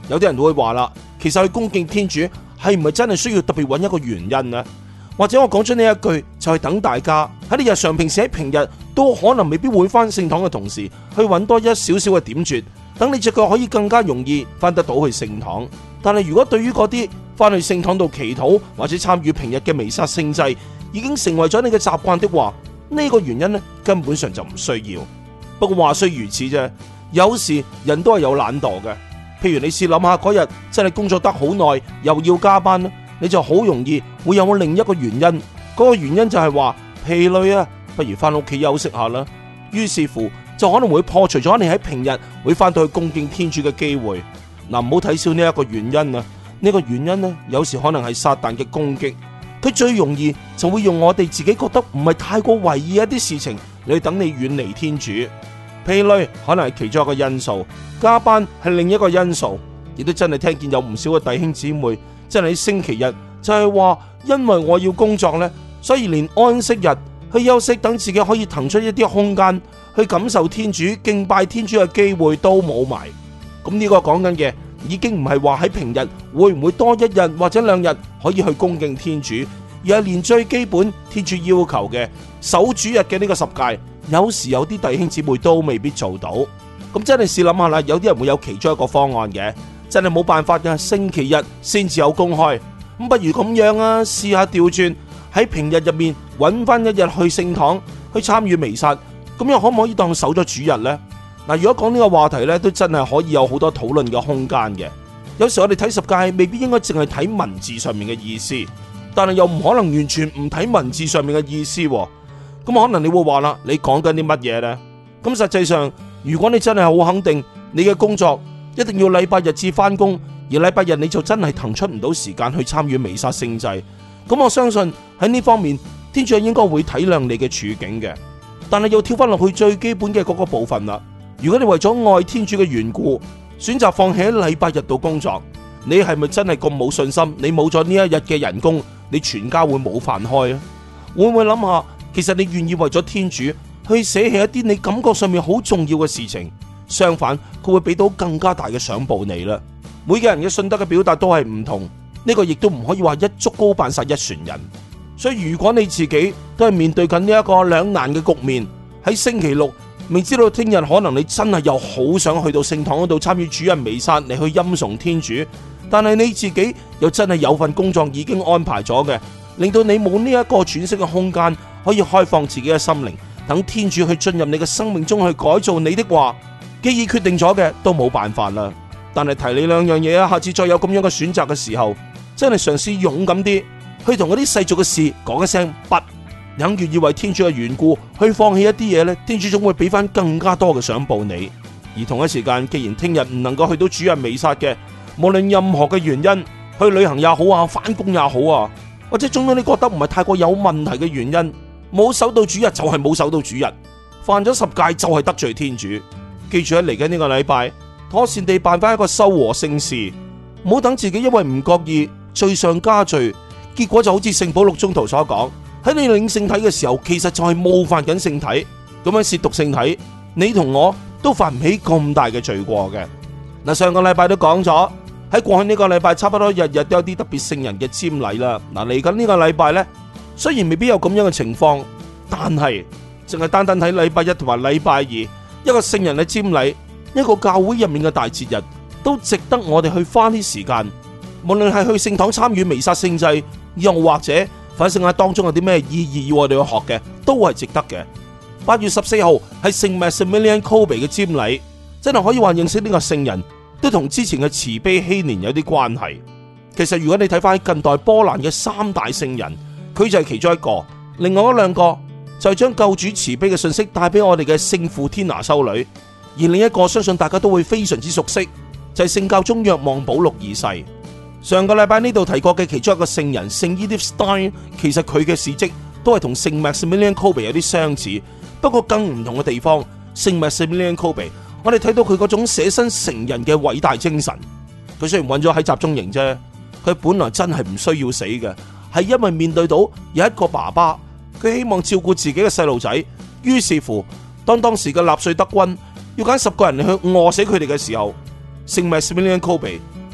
有啲人都會話啦，其實去恭敬天主係唔係真係需要特別揾一個原因呢？或者我講出呢一句就係等大家喺你日常平時喺平日都可能未必會返聖堂嘅同時，去揾多一少少嘅點綴，等你隻腳可以更加容易返得到去聖堂。但係如果對於嗰啲返去聖堂度祈禱或者參與平日嘅彌撒聖祭已經成為咗你嘅習慣的話，呢個原因呢根本上就唔需要。不過話雖如此啫，有時人都係有懶惰嘅。譬如你試諗下嗰日真係工作得好耐，又要加班，你就好容易會有另一個原因。嗰個原因就係話疲累啊，不如翻屋企休息下啦。於是乎就可能會破除咗你喺平日會翻到去恭敬天主嘅機會。嗱，唔好睇少呢一個原因啊！呢個原因呢，有時可能係撒旦嘅攻擊。佢最容易就會用我哋自己覺得唔係太過為意一啲事情嚟等你遠離天主。疲累可能係其中一個因素，加班係另一個因素。亦都真係聽見有唔少嘅弟兄姊妹真係喺星期日就係話，因為我要工作呢，所以連安息日去休息，等自己可以騰出一啲空間去感受天主、敬拜天主嘅機會都冇埋。咁呢個講緊嘅已經唔係話喺平日會唔會多一日或者2日可以去恭敬天主，而係連最基本天主要求嘅守主日嘅呢個10誡，有時有啲弟兄姊妹都未必做到。咁真係試諗下啦，有啲人會有其中一個方案嘅，真係冇辦法嘅，星期日先至有公開。咁不如咁樣啊，試下調轉喺平日入面揾翻一日去聖堂去參與彌撒，咁樣可唔可以當守咗主日呢？嗱，如果講呢個話題呢，都真係可以有好多討論嘅空間嘅。有時我哋睇10誡未必應該淨係睇文字上面嘅意思，但係又唔可能完全唔睇文字上面嘅意思。咁可能你會話啦，你講緊啲乜嘢呢？咁實際上，如果你真係好肯定你嘅工作一定要禮拜日至翻工，而禮拜日你就真係騰出唔到時間去參與彌撒聖祭，咁我相信喺呢方面天主應該會體諒你嘅處境嘅。但係又跳翻落去最基本嘅嗰個部分啦。如果你為咗愛天主嘅緣故選擇放棄喺禮拜日度工作，你係咪真係咁冇信心？你冇咗呢一日嘅人工，你全家會冇飯開啊？會唔會諗下，其實你願意為咗天主去捨棄一啲你感覺上面好重要嘅事情，相反佢會俾到更加大嘅賞報你啦。每個人嘅信德嘅表達都係唔同，呢個亦都唔可以話一竹篙打晒一船人。所以如果你自己都係面對緊呢一個兩難嘅局面，喺星期六明知道聽日可能你真係又好想去到聖堂嗰度參與主日彌撒嚟去欽崇天主，但係你自己又真係有份工作已經安排咗嘅，令到你冇呢一個喘息嘅空間可以開放自己嘅心靈，等天主去進入你嘅生命中去改造你的話，既已決定咗嘅都冇辦法啦。但係提你兩樣嘢啊，下次再有咁樣嘅選擇嘅時候，真係嘗試勇敢啲去同嗰啲世俗嘅事講一聲不，肯願意為天主嘅緣故去放棄一啲嘢呢，天主總會俾翻更加多嘅賞報你。而同一時間，既然聽日唔能夠去到主日彌撒嘅，無論任何嘅原因，去旅行也好啊，返工也好啊，或者總之你覺得唔係太過有問題嘅原因，冇守到主日就係冇守到主日，犯咗10誡就係得罪天主。記住喺嚟緊呢個禮拜，妥善地辦翻一個修和聖事，唔好等自己因為唔覺意罪上加罪，結果就好似聖保祿宗徒所講，喺你領聖體嘅時候，其實就係冒犯緊聖體，咁樣褻瀆聖體，你同我都犯唔起咁大嘅罪過嘅。嗱，上個禮拜都講咗，喺過去呢個禮拜差不多日日都有啲特別聖人嘅瞻禮啦。嗱，嚟緊呢個禮拜呢，雖然未必有咁樣嘅情況，但係淨係單單睇禮拜一同埋禮拜二，一個聖人嘅瞻禮，一個教會入面嘅大節日，都值得我哋去花啲時間。無論係去聖堂參與彌撒聖祭，又或者反省下當中有啲咩意義要我哋去學嘅，都係值得嘅。8月14號係聖 Maximilian Kolbe 嘅瞻禮，真係可以話認識呢個聖人，都同之前嘅慈悲禧年有啲關係。其實如果你睇翻近代波蘭嘅3大聖人，佢就係其中一個，另外嗰2個就係將救主慈悲嘅信息帶俾我哋嘅聖父天拿修女，而另一個相信大家都會非常之熟悉，就係聖教宗若望保祿2世。上個禮拜呢度提過嘅其中一個聖人聖 Edith Stein， 其實佢嘅事蹟都係同聖 Maximilian Kolbe 有啲相似，不過更唔同嘅地方，聖 Maximilian Kolbe 我哋睇到佢嗰種捨身成人嘅偉大精神。佢雖然困咗喺集中營啫，佢本來真係唔需要死嘅，係因為面對到有一個爸爸，佢希望照顧自己嘅細路仔，於是乎當時嘅納粹德軍要揀10個人去餓死佢哋嘅時候，聖 Maximilian Kolbe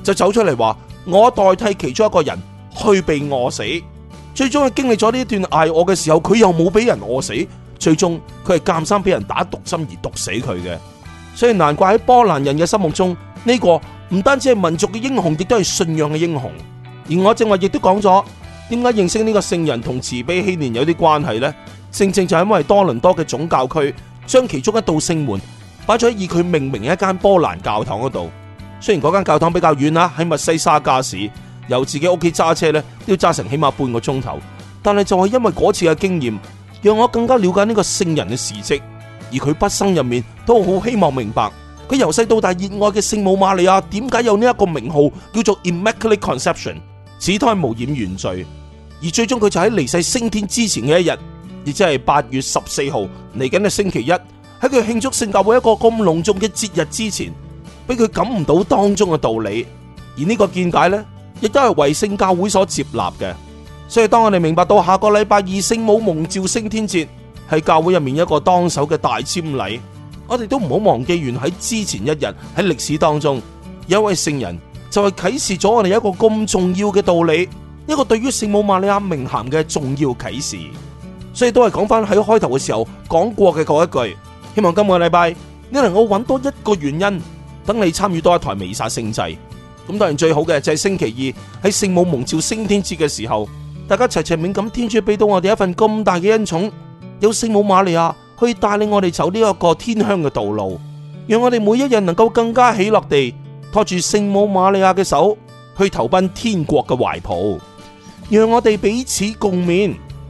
就走出嚟話我代替其中一個人去被餓死。最終佢經歷咗呢一段挨餓嘅時候，佢又冇俾人餓死，最終佢係監生俾人打毒針而毒死佢嘅。所以難怪喺波蘭人嘅心目中，呢個唔單止係民族嘅英雄，亦都係信仰嘅英雄。而我正話亦都講咗，點解認識呢個聖人同慈悲禧年有啲關係呢？正正就係因為多倫多嘅總教區將其中一道聖門擺咗喺以佢命名嘅一間波蘭教堂嗰度。雖然嗰間教堂比較遠啦，喺密西沙加市，由自己屋企揸車咧都要揸成起碼半個鐘頭。但係就係因為嗰次嘅經驗，讓我更加了解呢個聖人嘅事蹟。而佢畢生入面都好希望明白，佢由細到大熱愛嘅聖母瑪利亞點解有呢一個名號叫做 Immaculate Conception， 此胎無染原罪。而最終佢就喺離世升天之前嘅一日，亦即係8月14號嚟緊嘅星期一，喺佢慶祝聖教會一個咁隆重嘅節日之前，俾佢感悟到當中嘅道理。而呢個見解呢，亦都係為聖教會所接納嘅。所以當我哋明白到下個禮拜二聖母蒙召升天節係教會入面一個當守嘅大瞻禮，我哋都唔好忘記，原喺之前一日喺歷史當中有一位聖人就係啟示咗我哋一個咁重要嘅道理，一個對於聖母瑪利亞名銜嘅重要啟示。所以都係講翻喺開頭嘅時候講過嘅嗰一句，希望今個禮拜你能夠揾多一個原因，等你參與多一台彌撒聖祭。咁當然最好嘅就係星期二喺聖母蒙召升天節嘅時候，大家齊齊冥感天主俾到我哋一份咁大嘅恩寵，有聖母瑪利亞去帶領我哋走呢一個天鄉嘅道路，讓我哋每一日能夠更加喜樂地拖住聖母瑪利亞嘅手去投奔天國嘅懷抱，讓我哋彼此共勉。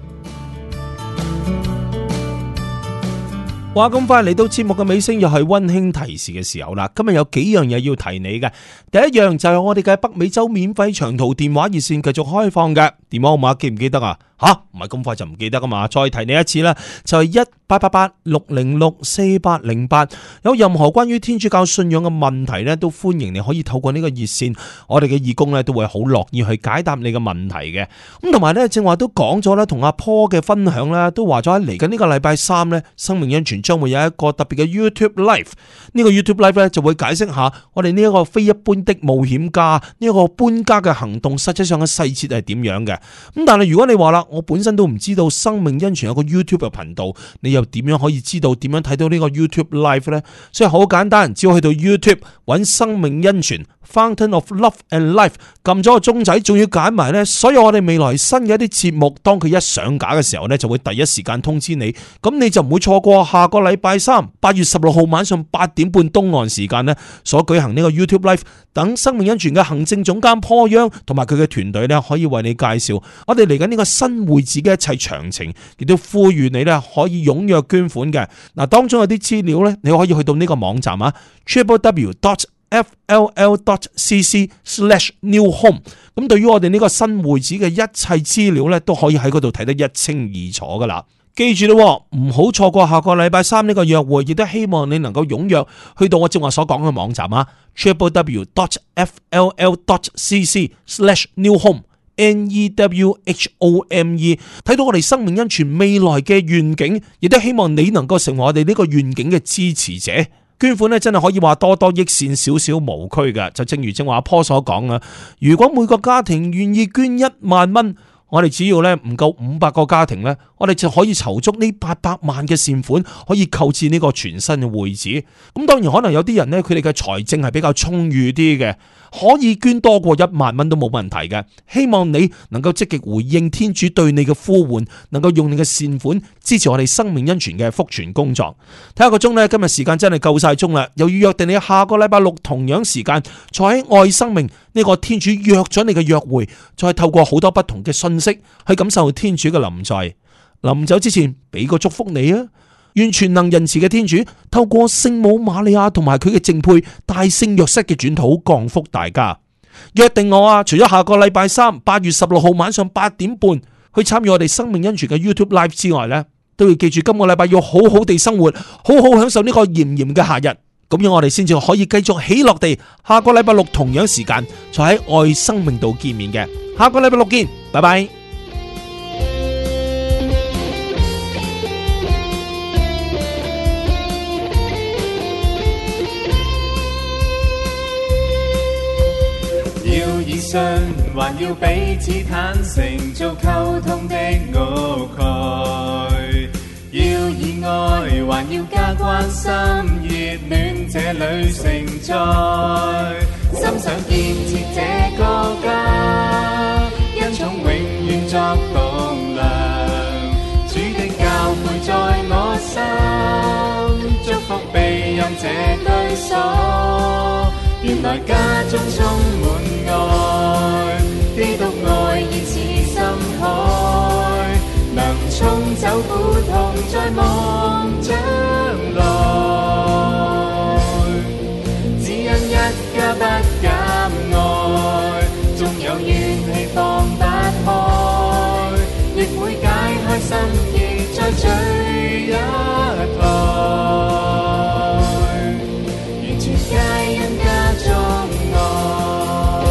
話咁快嚟到節目嘅尾聲，又係溫馨提示嘅時候啦。今日有幾樣嘢要提你嘅。第一樣就係我哋嘅北美洲免費長途電話熱線繼續開放嘅，電話號碼記唔記得啊？唔係咁快就唔記得噶嘛？再提你一次啦，就係1888-606-4808。有任何關於天主教信仰嘅問題呢，都歡迎你可以透過呢個熱線，我哋嘅義工呢都會好樂意去解答你嘅問題嘅。咁同埋呢，正話都講咗啦，同阿 Paul 嘅分享啦，都話咗喺嚟緊呢個禮拜3呢，生命恩泉將會有一個特別嘅 YouTube Live。呢個 YouTube Live 呢，就會解釋下我哋呢一個非一般的冒險家呢一個搬家嘅行動，實際上嘅細節係點樣嘅。咁但係如果你話啦，我本身都唔知道生命恩泉有個 YouTube 嘅頻道，你又點樣可以知道點樣睇到呢個 YouTube Live 呢？所以好簡單，只要去到 YouTube 揾生命恩泉 Fountain of Love and Life， 撳咗個鐘仔，仲要揀埋呢所有我哋未來新嘅一啲節目，當佢一上架嘅時候呢，就會第一時間通知你，咁你就唔會錯過下個禮拜3 8月16號晚上8點半東岸時間呢所舉行呢個 YouTube Live， 等生命恩泉嘅行政總監 Paul Young同埋佢嘅團隊呢，可以為你介紹我哋嚟緊呢個新會址嘅一切詳情，亦都呼籲你呢可以踴躍捐款嘅。嗱，當中有啲資料呢，你可以去到呢個網站啊 www.fll.cc/newhome。 咁對於我哋呢個新會址嘅一切資料呢，都可以喺嗰度睇得一清二楚噶啦。記住咯，唔好錯過下個禮拜3呢個約會，亦都希望你能夠踴躍去到我正話所講嘅網站啊 www.fll.cc/newhome NEWHOME， 睇到我哋生命恩泉未來嘅願景，亦都希望你能夠成為我哋呢個願景嘅支持者。捐款呢真係可以話多多益善，少少無拘嘅。就正如正話阿坡所講啊，如果每個家庭願意捐1萬蚊，我哋只要呢唔夠500個家庭呢，我哋就可以籌足呢800萬嘅善款，可以購置呢個全新嘅會址。咁當然可能有啲人呢，佢哋嘅財政係比較充裕啲嘅，可以捐多過1萬蚊都冇問題嘅。希望你能夠積極回應天主對你嘅呼喚，能夠用你嘅善款支持我哋生命恩泉嘅福傳工作。睇下個鐘呢，今日時間真係夠晒鐘啦，又要約定你下個禮拜6同樣時間，坐喺愛生命呢個天主約咗你嘅約會，再透過好多不同嘅信息去感受天主嘅臨在。臨走之前俾個祝福你啊！願全能仁慈嘅天主透過聖母瑪利亞同埋佢嘅正配大聖若瑟嘅轉禱降福大家。約定我啊，除咗下個禮拜3 8月16號晚上8點半去參與我哋生命恩泉嘅 YouTube Live 之外呢，都要記住今個禮拜要好好地生活，好好享受呢個炎炎嘅夏日。咁樣我哋先至可以繼續喜樂地下個禮拜6同樣時間就喺愛生命度見面嘅。下個禮拜6見，拜拜。 還要彼此坦誠，做溝通的屋蓋。要以愛，還要加關心，熱戀這裏承載。心想建設這個家，恩寵永遠作棟梁。主的教誨在我心，祝福庇蔭這居所。原來家中充滿愛，基督愛意似深海，能沖走苦痛在望將來。只因一家不減愛，縱有怨氣放不開，亦會解開心結再聚一台。完全皆因家中愛。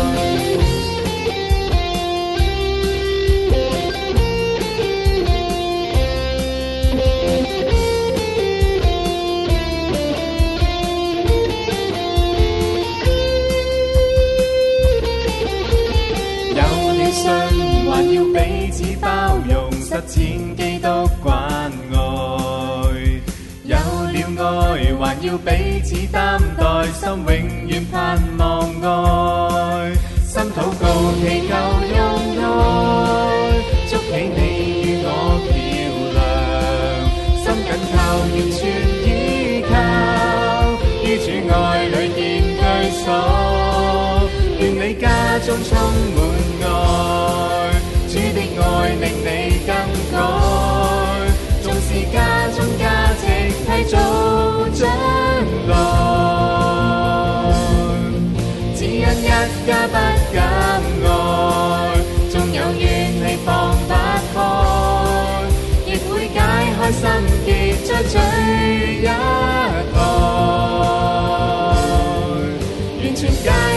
還要彼此包容，實踐基督關愛。有了愛，還要彼此擔待，心永遠盼望愛。心禱告祈求用愛，築起你與我橋梁。心緊靠，完全依靠，於主愛裏建居所。願你家中充滿愛，主的愛令你更改，縱使家中價值替做將來，只因一家不減愛，縱有怨氣放不開，亦會解開心結再聚一台，完全皆